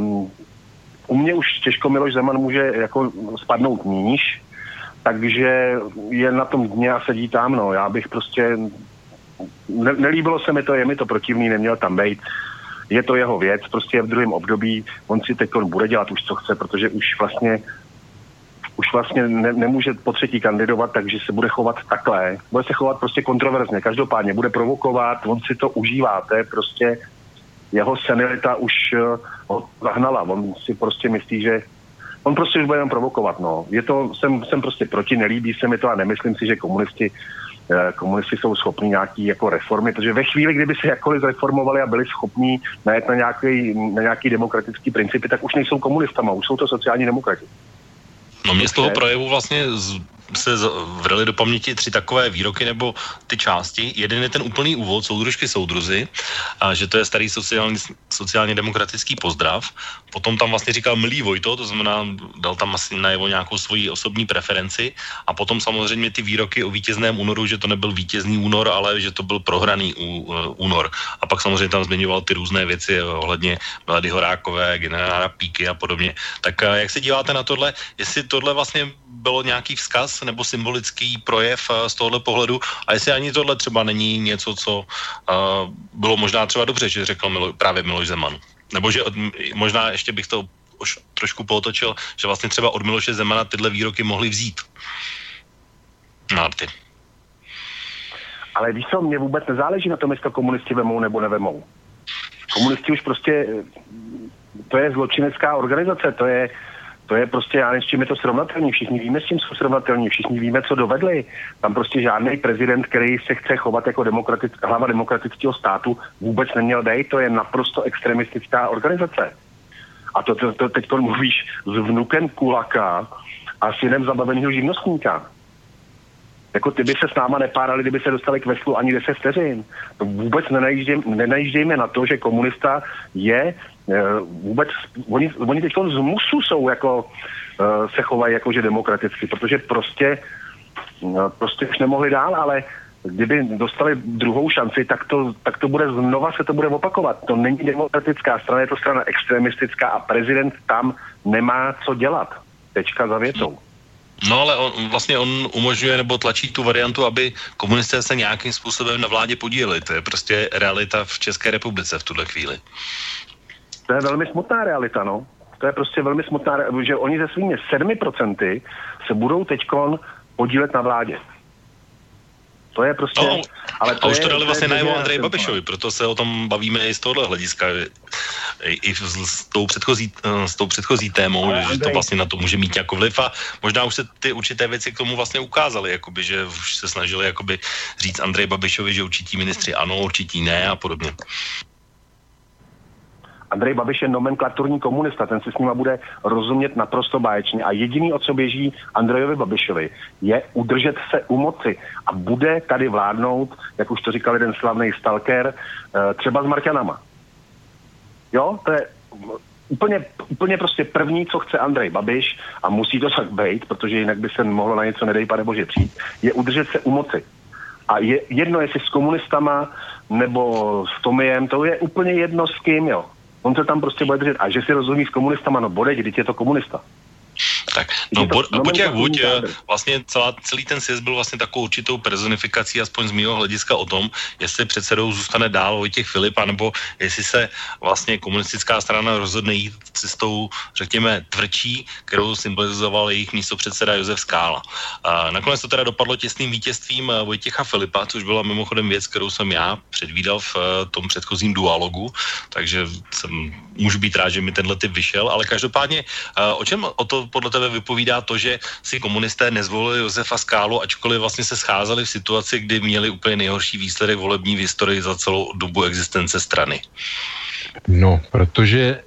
u mě už těžko Miloš Zeman může jako spadnout níž, takže je na tom dně a sedí tam, no. Já bych prostě... Nelíbilo se mi to, je mi to protivný, neměl tam bejt. Je to jeho věc, prostě je v druhém období, on si teď bude dělat už co chce, protože už vlastně nemůže po třetí kandidovat, takže se bude chovat takhle. Bude se chovat prostě kontroverzně, každopádně bude provokovat, on si to užívá, to je prostě jeho senilita už ho zahnala, on si prostě myslí, že on prostě už bude jenom provokovat, no. Jsem prostě proti, nelíbí se mi to a nemyslím si, že komunisti jsou schopní nějaký jako reformy, protože ve chvíli, kdyby se jakkoliv zreformovali a byli schopní najet na nějaký demokratický principy, tak už nejsou komunistama, už jsou to sociální demokrati. No mě z toho projevu vlastně se vrely do paměti 3 takové výroky nebo ty části. Jeden je ten úplný úvod, soudružky, soudruzi, a že to je starý sociálně demokratický pozdrav. Potom tam vlastně říkal milý Vojto, to znamená, dal tam asi najevo nějakou svoji osobní preferenci. A potom samozřejmě ty výroky o vítězném únoru, že to nebyl vítězný únor, ale že to byl prohraný únor. A pak samozřejmě tam zmiňoval ty různé věci ohledně Milady Horákové, generála Píky a podobně. Tak jak se díváte na tohle, jestli tohle vlastně bylo nějaký vzkaz nebo symbolický projev z tohohle pohledu a jestli ani tohle třeba není něco, co bylo možná třeba dobře, že řekl právě Miloš Zeman. Nebo že možná ještě bych to už trošku pootočil, že vlastně třeba od Miloše Zemana tyhle výroky mohli vzít. Marty. Ale víš co, mě vůbec nezáleží na tom, jestli to komunisti vemou nebo nevemou. Komunisti už prostě, to je zločinecká organizace, to je prostě, já nevím, s čím je to srovnatelný, všichni víme, s čím jsou srovnatelní, všichni víme, co dovedli. Tam prostě žádný prezident, který se chce chovat jako hlava demokratického státu, vůbec neměl dejt, to je naprosto extremistická organizace. A to teď mluvíš s vnukem Kulaka a synem zabaveného živnostníka. Jako ty by se s náma nepárali, kdyby se dostali k veslu ani 10 vteřin. To vůbec nenajíždějme na to, že komunista je vůbec, oni teď z musu jsou jako, se chovají jako, že demokraticky, protože prostě už nemohli dál, ale kdyby dostali druhou šanci, tak to bude znova, se to bude opakovat. To není demokratická strana, je to strana extremistická a prezident tam nemá co dělat. Tečka za větou. No ale on umožňuje nebo tlačí tu variantu, aby komunisté se nějakým způsobem na vládě podíleli. To je prostě realita v České republice v tuhle chvíli. To je velmi smutná realita, no. To je prostě velmi smutná realita, že oni se svými 7% se budou teďkon podílet na vládě. To je prostě... No, ale to už to dali vlastně najevo Andreji Babišovi, proto se o tom bavíme i z tohohle hlediska. I s tou předchozí témou, že to vlastně na to může mít jako vliv a možná už se ty určité věci k tomu vlastně ukázaly, jakoby, že už se snažili jakoby říct Andreji Babišovi, že určití ministři ano, určití ne a podobně. Andrej Babiš je nomenklaturní komunista, ten si s nima bude rozumět naprosto báječně a jediný, o co běží Andrejovi Babišovi, je udržet se u moci a bude tady vládnout, jak už to říkal jeden slavný stalker, třeba s Marťanama. Jo, to je úplně prostě první, co chce Andrej Babiš a musí to tak být, protože jinak by se mohlo na něco, nedej pane bože, přijít, je udržet se u moci. A je jedno, jestli s komunistama nebo s Tomiem, to je úplně jedno s kým, jo. On se tam prostě bude držet. A že si rozumí s komunistama, no bodej, když je to komunista. Tak, no buď jak buď, vlastně celý ten sjezd byl vlastně takovou určitou personifikací, aspoň z mýho hlediska o tom, jestli předsedou zůstane dál Vojtěch Filip, anebo jestli se vlastně komunistická strana rozhodne jít cestou, řekněme, tvrdší, kterou symbolizoval jejich místopředseda Josef Skála. A nakonec to teda dopadlo těsným vítězstvím Vojtěcha Filipa, což byla mimochodem věc, kterou jsem já předvídal v tom předchozím dualogu, takže můžu být rád, že mi tenhle typ vyšel, ale každopádně o čem o to podle tebe vypovídá to, že si komunisté nezvolili Josefa Skálu, ačkoliv vlastně se scházeli v situaci, kdy měli úplně nejhorší výsledek volební v historii za celou dobu existence strany? No, protože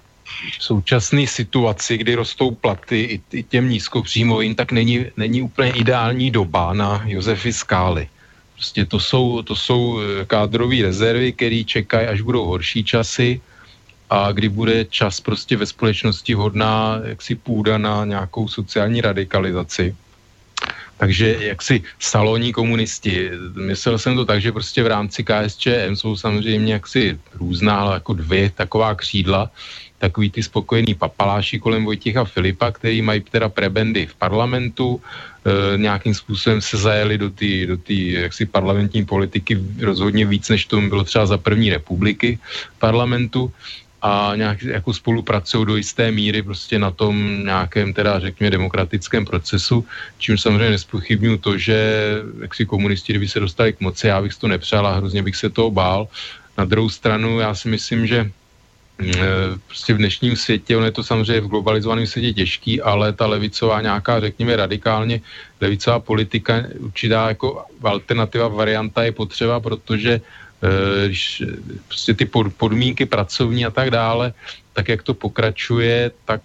v současné situaci, kdy rostou platy i těm nízkopříjmovým, tak není úplně ideální doba na Josefy Skály. Prostě to jsou kádrové rezervy, které čekají, až budou horší časy, a kdy bude čas prostě ve společnosti vhodná jaksi půda na nějakou sociální radikalizaci. Takže jaksi salonní komunisti. Myslel jsem to tak, že prostě v rámci KSČM jsou samozřejmě jaksi různá, ale jako dvě taková křídla, takový ty spokojený papaláši kolem Vojtěcha Filipa, který mají teda prebendy v parlamentu, nějakým způsobem se zajeli do té jaksi parlamentní politiky rozhodně víc, než tomu bylo třeba za první republiky parlamentu, a nějak jako spolupracují do jisté míry prostě na tom nějakém teda řekněme demokratickém procesu, čím samozřejmě nespochybnuju to, že jaksi komunisti, kdyby se dostali k moci, já bych si to nepřál a hrozně bych se toho bál. Na druhou stranu já si myslím, že prostě v dnešním světě, ono je to samozřejmě v globalizovaném světě těžký, ale ta levicová nějaká, řekněme, radikálně levicová politika, určitá jako alternativa, varianta je potřeba, protože když prostě ty podmínky pracovní a tak dále, tak jak to pokračuje, tak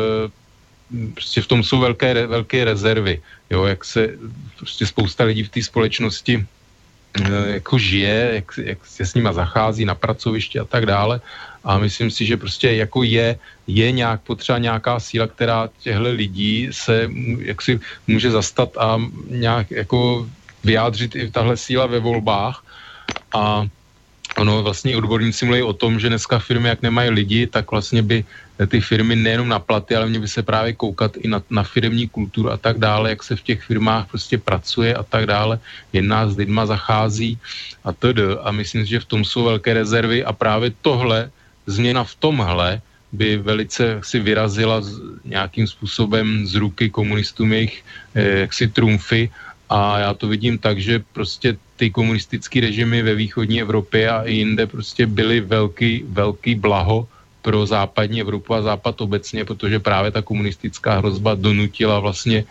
prostě v tom jsou velké rezervy. Jo, jak se prostě spousta lidí v té společnosti jako žije, jak se s nima zachází na pracovišti a tak dále. A myslím si, že prostě jako je nějak potřeba nějaká síla, která těchto lidí se jaksi může zastat a nějak jako vyjádřit i tahle síla ve volbách. A ono vlastně odborníci mluví o tom, že dneska firmy, jak nemají lidi, tak vlastně by ty firmy nejenom na platy, ale mě by se právě koukat i na firemní kulturu a tak dále, jak se v těch firmách prostě pracuje a tak dále, jedná s lidma, zachází a td. A myslím si, že v tom jsou velké rezervy a právě tohle, změna v tomhle by velice si vyrazila nějakým způsobem z ruky komunistům jejich jaksi trumfy. A já to vidím tak, že prostě ty komunistické režimy ve východní Evropě a i jinde prostě byly velký blaho pro západní Evropu a západ obecně, protože právě ta komunistická hrozba donutila vlastně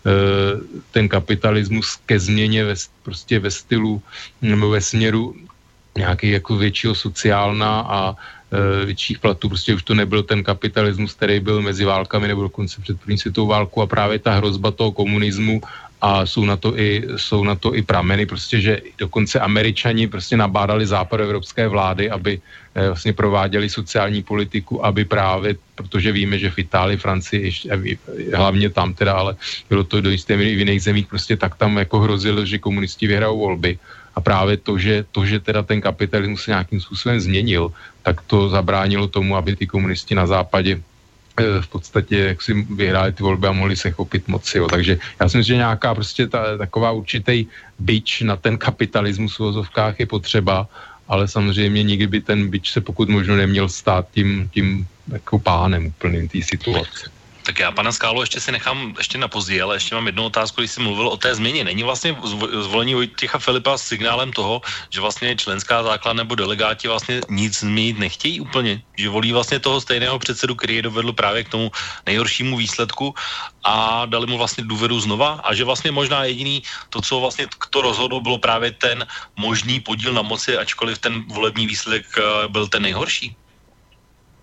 ten kapitalismus ke změně prostě ve stylu nebo ve směru nějaký jako většího sociálna a větších platů. Prostě už to nebyl ten kapitalismus, který byl mezi válkami nebo dokonce před první světovou válkou a právě ta hrozba toho komunismu a jsou na to i prameny, prostě, že dokonce Američani prostě nabádali západoevropské vlády, aby vlastně prováděli sociální politiku, aby právě, protože víme, že v Itálii, Francii, hlavně tam teda, ale bylo to do jisté míry v jiných zemích, prostě tak tam jako hrozilo, že komunisti vyhrajou volby. A právě to, že teda ten kapitalismus se nějakým způsobem změnil, tak to zabránilo tomu, aby ty komunisti na západě v podstatě jak si vyhráli ty volby a mohli se chopit moci. Jo. Takže já si myslím, že nějaká prostě taková určitý bič na ten kapitalismus v uvozovkách je potřeba, ale samozřejmě nikdy by ten bič se pokud možno neměl stát tím jako pánem úplným té situace. Tak já, pana Skálu, ještě si nechám ještě na později, ale ještě mám jednu otázku, když jsi mluvil o té změně. Není vlastně zvolení Vojtěcha Filipa signálem toho, že vlastně členská základna nebo delegáti vlastně nic změnit nechtějí úplně? Že volí vlastně toho stejného předsedu, který je dovedl právě k tomu nejhoršímu výsledku a dali mu vlastně důvěru znova? A že vlastně možná jediný to, co vlastně to rozhodlo, bylo právě ten možný podíl na moci, ačkoliv ten volební výsledek byl ten nejhorší?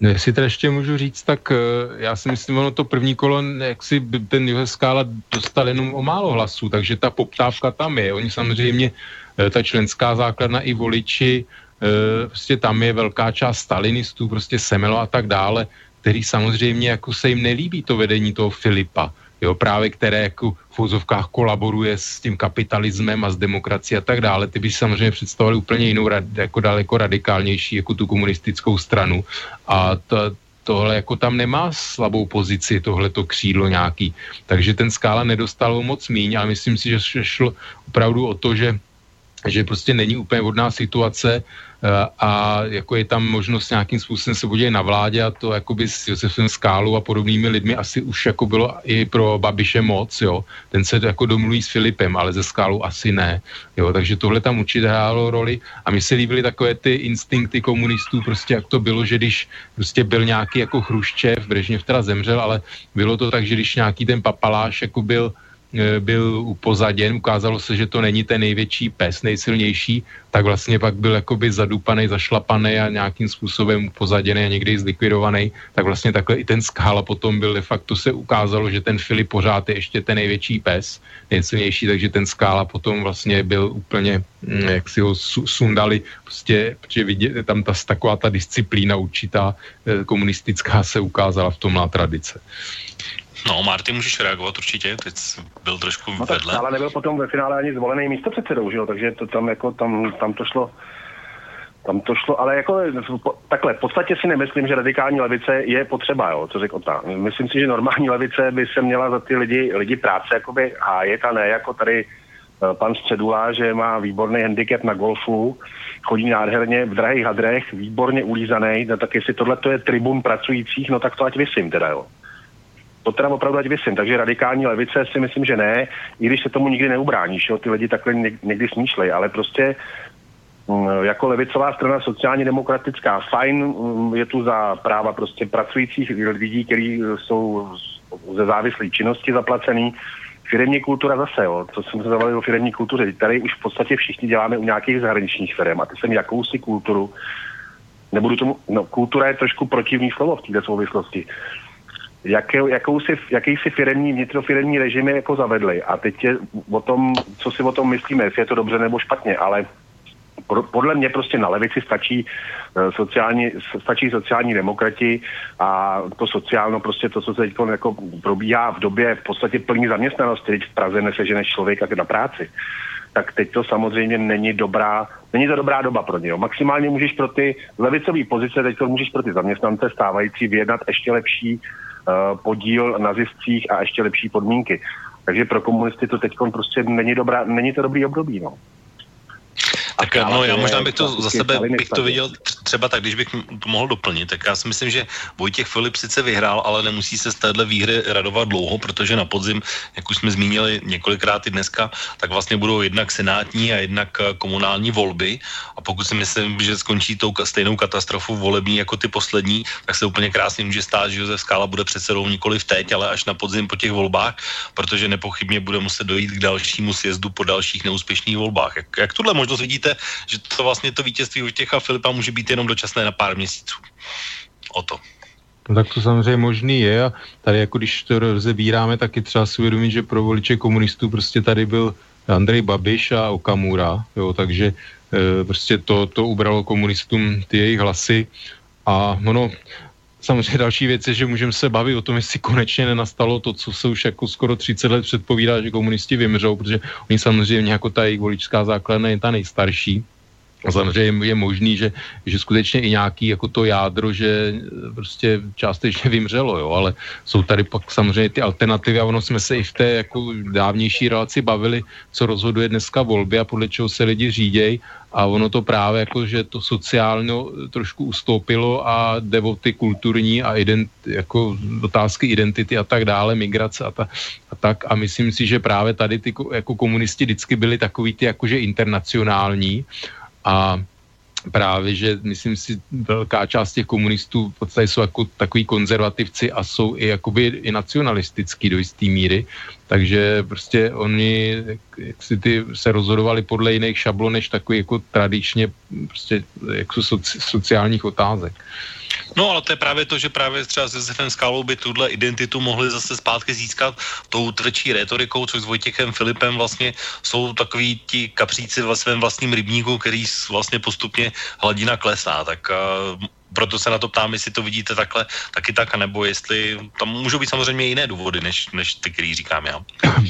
No, jestli teda ještě můžu říct, tak já si myslím, ono to první kolo, jak si ten Josef Skála dostal jenom o málo hlasů, takže ta poptávka tam je. Oni samozřejmě, ta členská základna i voliči, prostě tam je velká část stalinistů, prostě Semelo a tak dále, který samozřejmě jako se jim nelíbí to vedení toho Filipa, jo, právě které jako v úzovkách kolaboruje s tím kapitalismem a s demokracií a tak dále. Ty by si samozřejmě představovali úplně jinou, jako daleko radikálnější, jako tu komunistickou stranu. A tohle jako tam nemá slabou pozici, tohleto křídlo nějaký. Takže ten Skála nedostal moc míň, ale myslím si, že šlo opravdu o to, že prostě není úplně vhodná situace a jako je tam možnost nějakým způsobem se podílet na vládě a to jakoby s Josefem Skálou a podobnými lidmi asi už jako bylo i pro Babiše moc, jo. Ten se jako domluví s Filipem, ale ze Skálou asi ne, jo. Takže tohle tam určitě hrálo roli a mi se líbily takové ty instinkty komunistů, prostě jak to bylo, že když prostě byl nějaký jako Chruščev, Brežněv teda zemřel, ale bylo to tak, že když nějaký ten papaláš jako byl upozaděn, ukázalo se, že to není ten největší pes, nejsilnější, tak vlastně pak byl jakoby zadupaný, zašlapaný a nějakým způsobem upozaděný a někdy i zlikvidovaný, tak vlastně takhle i ten Skála potom byl de facto se ukázalo, že ten Filip pořád je ještě ten největší pes, nejsilnější, takže ten Skála potom vlastně byl úplně, jak si ho sundali, prostě, protože vidět, tam taková ta disciplína určitá komunistická se ukázala v tomhle tradice. No, Marty, můžeš reagovat určitě, teď byl trošku vedle. Ale nebyl potom ve finále ani zvolený místopředsedou, že jo, takže to tam jako, tam to šlo, ale jako takhle, v podstatě si nemyslím, že radikální levice je potřeba, jo, co řekl Ota. Myslím si, že normální levice by se měla za ty lidi práce jakoby hájet a ne jako tady pan Středula, že má výborný handicap na golfu, chodí nádherně v drahých hadrech, výborně ulízaný, no tak jestli tohle to je tribun pracujících, no tak to ať vysím teda, jo. To teda opravdu ať vysím, takže radikální levice si myslím, že ne, i když se tomu nikdy neubráníš, jo, ty lidi takhle někdy smýšlej, ale prostě jako levicová strana sociálně demokratická, fajn, je tu za práva prostě pracujících lidí, kteří jsou ze závislé činnosti zaplacený. Firemní kultura zase, jo, to jsme se zavali o firemní kultuře, tady už v podstatě všichni děláme u nějakých zahraničních firem a ty jsem jakousi kulturu, kultura je trošku protivný slovo v této souvislosti. Jakýsi firemní, vnitrofiremní režimy jako zavedli. A teď je o tom, co si o tom myslíme, jestli je to dobře nebo špatně, ale podle mě prostě na levici stačí sociální demokrati a to sociálno, prostě to, co se teď jako probíhá v době v podstatě plný zaměstnanosti, teď v Praze neseženeš člověka na práci. Tak teď to samozřejmě není to dobrá doba pro něj. Maximálně můžeš pro ty levicové pozice, teď to můžeš pro ty zaměstnance stávající vyjednat ještě lepší podíl na ziscích a ještě lepší podmínky. Takže pro komunisty to teď prostě není to dobrý období, no. Tak no, já možná bych to za sebe to viděl třeba tak, když bych to mohl doplnit, tak já si myslím, že Vojtěch Filip sice vyhrál, ale nemusí se z téhle výhry radovat dlouho, protože na podzim, jak už jsme zmínili několikrát i dneska, tak vlastně budou jednak senátní a jednak komunální volby a pokud si myslím, že skončí tou stejnou katastrofou volební jako ty poslední, tak se úplně krásně může stát, že Josef Skála bude předsedou nikoliv teď, ale až na podzim po těch volbách, protože nepochybně bude muset dojít k dalšímu sjezdu po dalších neúspěšných volbách. Jak tuhle možnost vidíte, že to vlastně to vítězství Vojtěcha Filipa může být jenom dočasné na pár měsíců. O to. No tak to samozřejmě možný je a tady jako když to rozebíráme, tak je třeba si uvědomit, že pro voliče komunistů prostě tady byl Andrej Babiš a Okamura, jo, takže prostě to ubralo komunistům ty jejich hlasy a ono samozřejmě další věc je, že můžeme se bavit o tom, jestli konečně nenastalo to, co se už jako skoro 30 let předpovídá, že komunisti vymřou, protože oni samozřejmě jako ta jejich voličská základna je ta nejstarší. A samozřejmě je možný, že skutečně i nějaký jako to jádro, že prostě částečně vymřelo, jo, ale jsou tady pak samozřejmě ty alternativy a ono jsme se i v té jako dávnější relaci bavili, co rozhoduje dneska volby a podle čeho se lidi řídějí a ono to právě jako, že to sociálně trošku ustoupilo a jde o ty kulturní a jako otázky identity a tak dále, migrace a tak a myslím si, že právě tady ty jako komunisti vždycky byli takový ty jakože internacionální a právě, že myslím si, velká část těch komunistů v podstatě jsou jako takový konzervativci a jsou i jakoby i nacionalistický do jistý míry, takže prostě oni jak si ty se rozhodovali podle jiných šablon, než takový jako tradičně prostě jako sociálních otázek. No, ale to je právě to, že právě třeba s Josefem Skálou by tuhle identitu mohli zase zpátky získat tou tvrdší rétorikou, což s Vojtěchem Filipem vlastně jsou takový ti kapříci ve svém vlastním rybníku, který vlastně postupně hladina klesá, tak proto se na to ptám, jestli to vidíte takhle, taky tak, nebo jestli tam můžou být samozřejmě jiné důvody, než ty, který říkám já.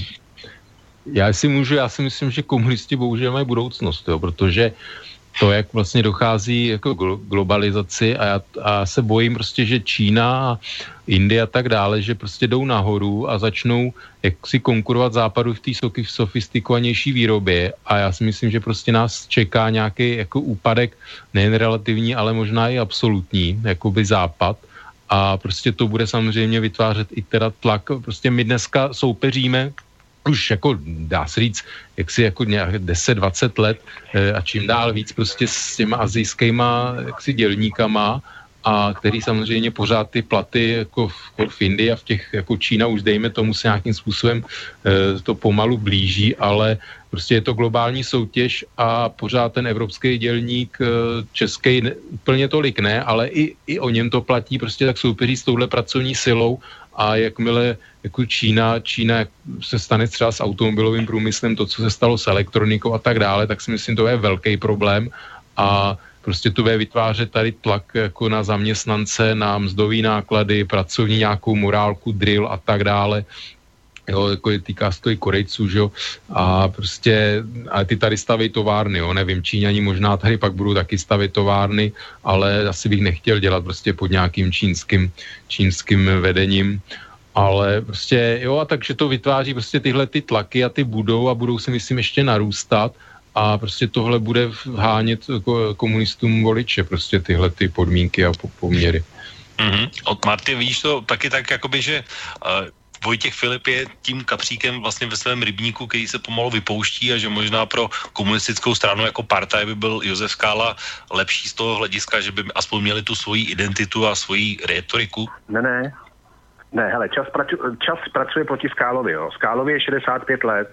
Já si myslím, že komunisti bohužel mají budoucnost, jo, protože to, jak vlastně dochází jako globalizaci a já se bojím prostě, že Čína a Indie a tak dále, že prostě jdou nahoru a začnou jak si konkurovat západu v té sofistikovanější výrobě a já si myslím, že prostě nás čeká nějaký jako úpadek, nejen relativní, ale možná i absolutní, jakoby západ a prostě to bude samozřejmě vytvářet i teda tlak. Prostě my dneska soupeříme už jako dá se říct, jak si jako nějak 10-20 let a čím dál víc prostě s těma asijskýma jaksi dělníkama a který samozřejmě pořád ty platy jako v Indii a v těch jako Čína už dejme tomu se nějakým způsobem to pomalu blíží, ale prostě je to globální soutěž a pořád ten evropský dělník český úplně tolik ne, ale i o něm to platí, prostě tak soupeří s touhle pracovní silou a jakmile jako Čína se stane třeba s automobilovým průmyslem, to, co se stalo s elektronikou a tak dále, tak si myslím, to je velký problém a prostě to bude vytvářet tady tlak jako na zaměstnance, na mzdový náklady, pracovní nějakou morálku, drill a tak dále. Jo, jako týká se to i Korejců, že jo, a prostě, ale ty tady staví továrny, jo, nevím, Číňani možná tady pak budou taky stavit továrny, ale asi bych nechtěl dělat prostě pod nějakým čínským vedením, ale prostě, jo, a takže to vytváří prostě tyhle ty tlaky a ty budou si myslím ještě narůstat a prostě tohle bude hánět komunistům voliče, prostě tyhle ty podmínky a poměry. Od Marty, vidíš to taky tak, jakoby, že Vojtěch Filip je tím kapříkem vlastně ve svém rybníku, který se pomalu vypouští a že možná pro komunistickou stranu jako partaj by byl Josef Skála lepší z toho hlediska, že by aspoň měli tu svoji identitu a svoji rétoriku? Ne, hele, čas pracuje proti Skálovi, jo. Skálovi je 65 let,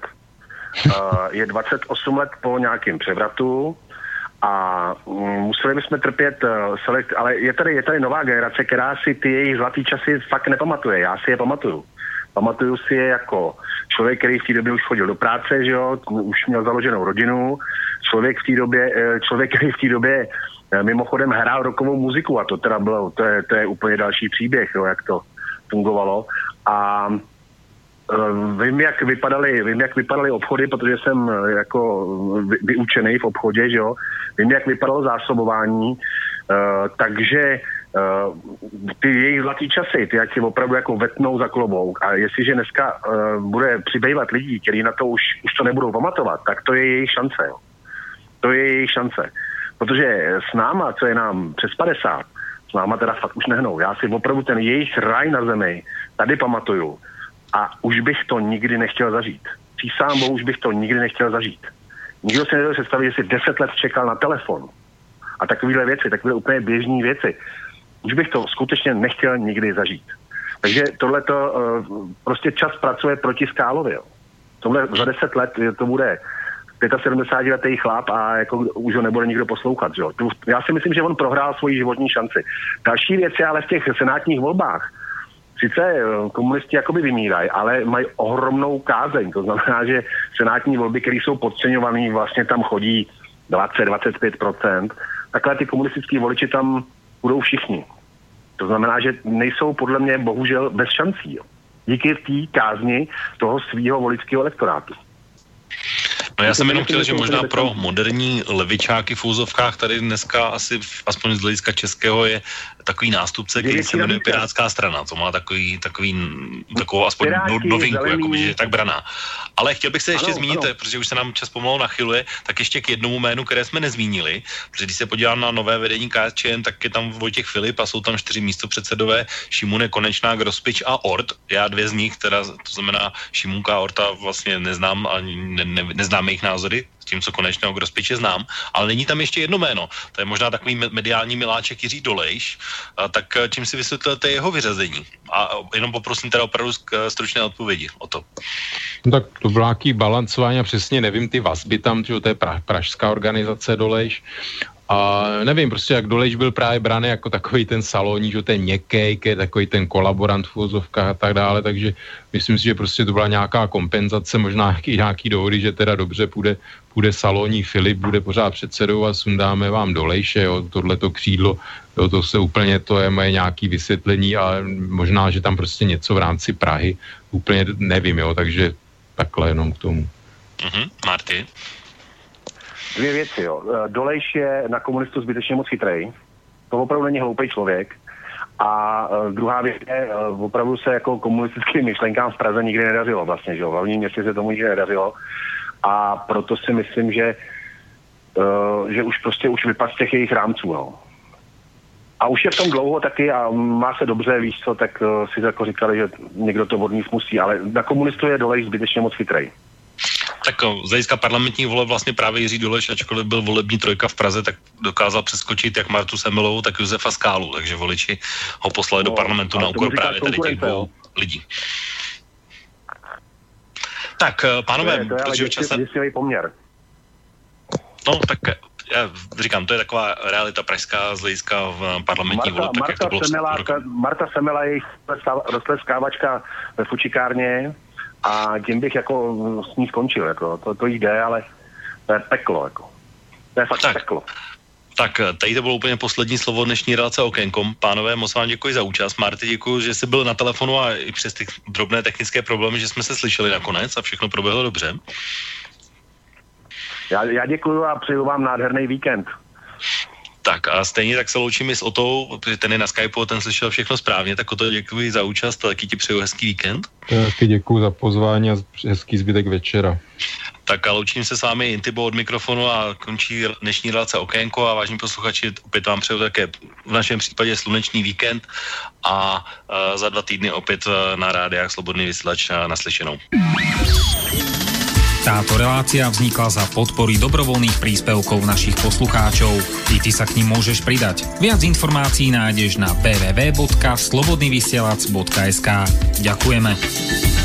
je 28 let po nějakém převratu a museli bychom trpět ale je tady nová generace, která si ty jejich zlatý časy fakt nepamatuje. Já si je pamatuju. Pamatuju si je jako člověk, který v té době už chodil do práce, že jo, už měl založenou rodinu, člověk, který v té době mimochodem hrál rockovou muziku a to teda bylo, to je úplně další příběh, jo, jak to fungovalo. A vím, jak vypadaly obchody, protože jsem jako vyučený v obchodě, že jo. Vím, jak vypadalo zásobování, takže ty jejich zlatý časy, ty jak si opravdu jako vetnou za klobouk a jestliže dneska bude přibývat lidí, kteří na to už to nebudou pamatovat, tak to je jejich šance, jo. To je jejich šance. Protože s náma, co je nám přes 50, s náma teda fakt už nehnou. Já si opravdu ten jejich ráj na zemi tady pamatuju. A už bych to nikdy nechtěl zažít. Přísahám Bohu, už bych to nikdy nechtěl zažít. Nikdo si nedokáže představit, že si 10 let čekal na telefon. A takovéhle věci, takové úplně běžné věci. Už bych to skutečně nechtěl nikdy zažít. Takže tohleto prostě čas pracuje proti Skálovi. Jo. Tohle za 10 let to bude 75letý chlap a jako už ho nebude nikdo poslouchat. Jo. Já si myslím, že on prohrál svoji životní šanci. Další věc je ale v těch senátních volbách. Sice komunisti jakoby vymírají, ale mají ohromnou kázeň. To znamená, že senátní volby, které jsou podceňované, vlastně tam chodí 20-25%. Takhle ty komunistický voliči tam budou všichni. To znamená, že nejsou podle mě bohužel bez šancí. Jo. Díky té kázni toho svýho voličského elektorátu. No já jsem jenom chtěl, že možná pro moderní levičáky v úzovkách tady dneska asi, aspoň z hlediska českého, je takový nástupce, který se jmenuje Pirátská strana. To má takovou aspoň novinku, jakoby, že je tak braná. Ale chtěl bych se ještě zmínit, protože už se nám čas pomalu nachyluje, tak ještě k jednomu jménu, které jsme nezmínili, protože když se podívám na nové vedení KSČM, tak je tam Vojtěch Filip a jsou tam 4 místopředsedové, Šimune, Konečná, Grospič a Ort. Já 2 z nich, teda to znamená Šimunka a Orta vlastně neznám a neznám jejich názory, s tím, co Konečného Grospiče znám, ale není tam ještě jedno jméno. To je možná takový mediální miláček Jiří Dolejš, tak čím si vysvětlíte jeho vyřazení? A jenom poprosím teda opravdu stručné odpovědi o to. No tak to bylo nějaký balancování a přesně nevím ty vazby tam, že to je pražská organizace Dolejš A nevím, prostě jak Dolejš byl právě braný jako takový ten salóní, že ten měkkej, takový ten kolaborant v uvozovkách a tak dále, takže myslím si, že prostě to byla nějaká kompenzace, možná nějaký dohody, že teda dobře půjde salóní Filip, bude pořád předsedou a sundáme vám Dolejše, jo, tohleto křídlo, jo, to je moje nějaký vysvětlení a možná, že tam prostě něco v rámci Prahy, úplně nevím, jo, takže takhle jenom k tomu. Marty? 2 věci, jo. Dolejš je na komunistu zbytečně moc chytrej. To opravdu není hloupý člověk. A druhá věc je, opravdu se jako komunistickým myšlenkám v Praze nikdy nedařilo vlastně, že jo. V hlavním městě se tomu nikdy nedařilo. A proto si myslím, že už vypad z těch jejich rámců, no. A už je v tom dlouho taky a má se dobře, víš co, tak si jako říkali, že někdo to od nich musí, ale na komunistu je Dolejš zbytečně moc chytrej. Tak z hlediska parlamentních voleb vlastně právě Jiří Dolejš, ačkoliv byl volební trojka v Praze, tak dokázal přeskočit jak Martu Semmelovou, tak Josefa Skálu, takže voliči ho poslali do parlamentu na úkor právě tady těch 2 lidí. Tak, pánové, protože čas... děsivý poměr. No, tak já říkám, to je taková realita pražská z hlediska v parlamentní voleb, tak jak to bylo Marta Semmela je roztleskávačka ve fučikárně, a tím bych jako s ní skončil, jako, to jde, ale to je peklo, jako. To je fakt peklo. Tak, tady to bylo úplně poslední slovo dnešní relace Okénkom. Pánové, moc vám děkuji za účast. Marty, děkuji, že jsi byl na telefonu a i přes ty drobné technické problémy, že jsme se slyšeli nakonec a všechno proběhlo dobře. Já děkuji a přeju vám nádherný víkend. Tak a stejně tak se loučím i s Otou, protože ten je na Skypeu, ten slyšel všechno správně, tak Oto děkuji za účast a taky ti přeju hezký víkend. Taky děkuji za pozvání a hezký zbytek večera. Tak a loučím se s vámi Intibo od mikrofonu a končí dnešní relace Okénko a vážení posluchači, opět vám přeju také v našem případě slunečný víkend a za 2 týdny opět na rádiách Slobodný vysielač naslyšenou. Táto relácia vznikla za podpory dobrovoľných príspevkov našich poslucháčov. I ty sa k nim môžeš pridať. Viac informácií nájdeš na www.slobodnyvysielac.sk. Ďakujeme.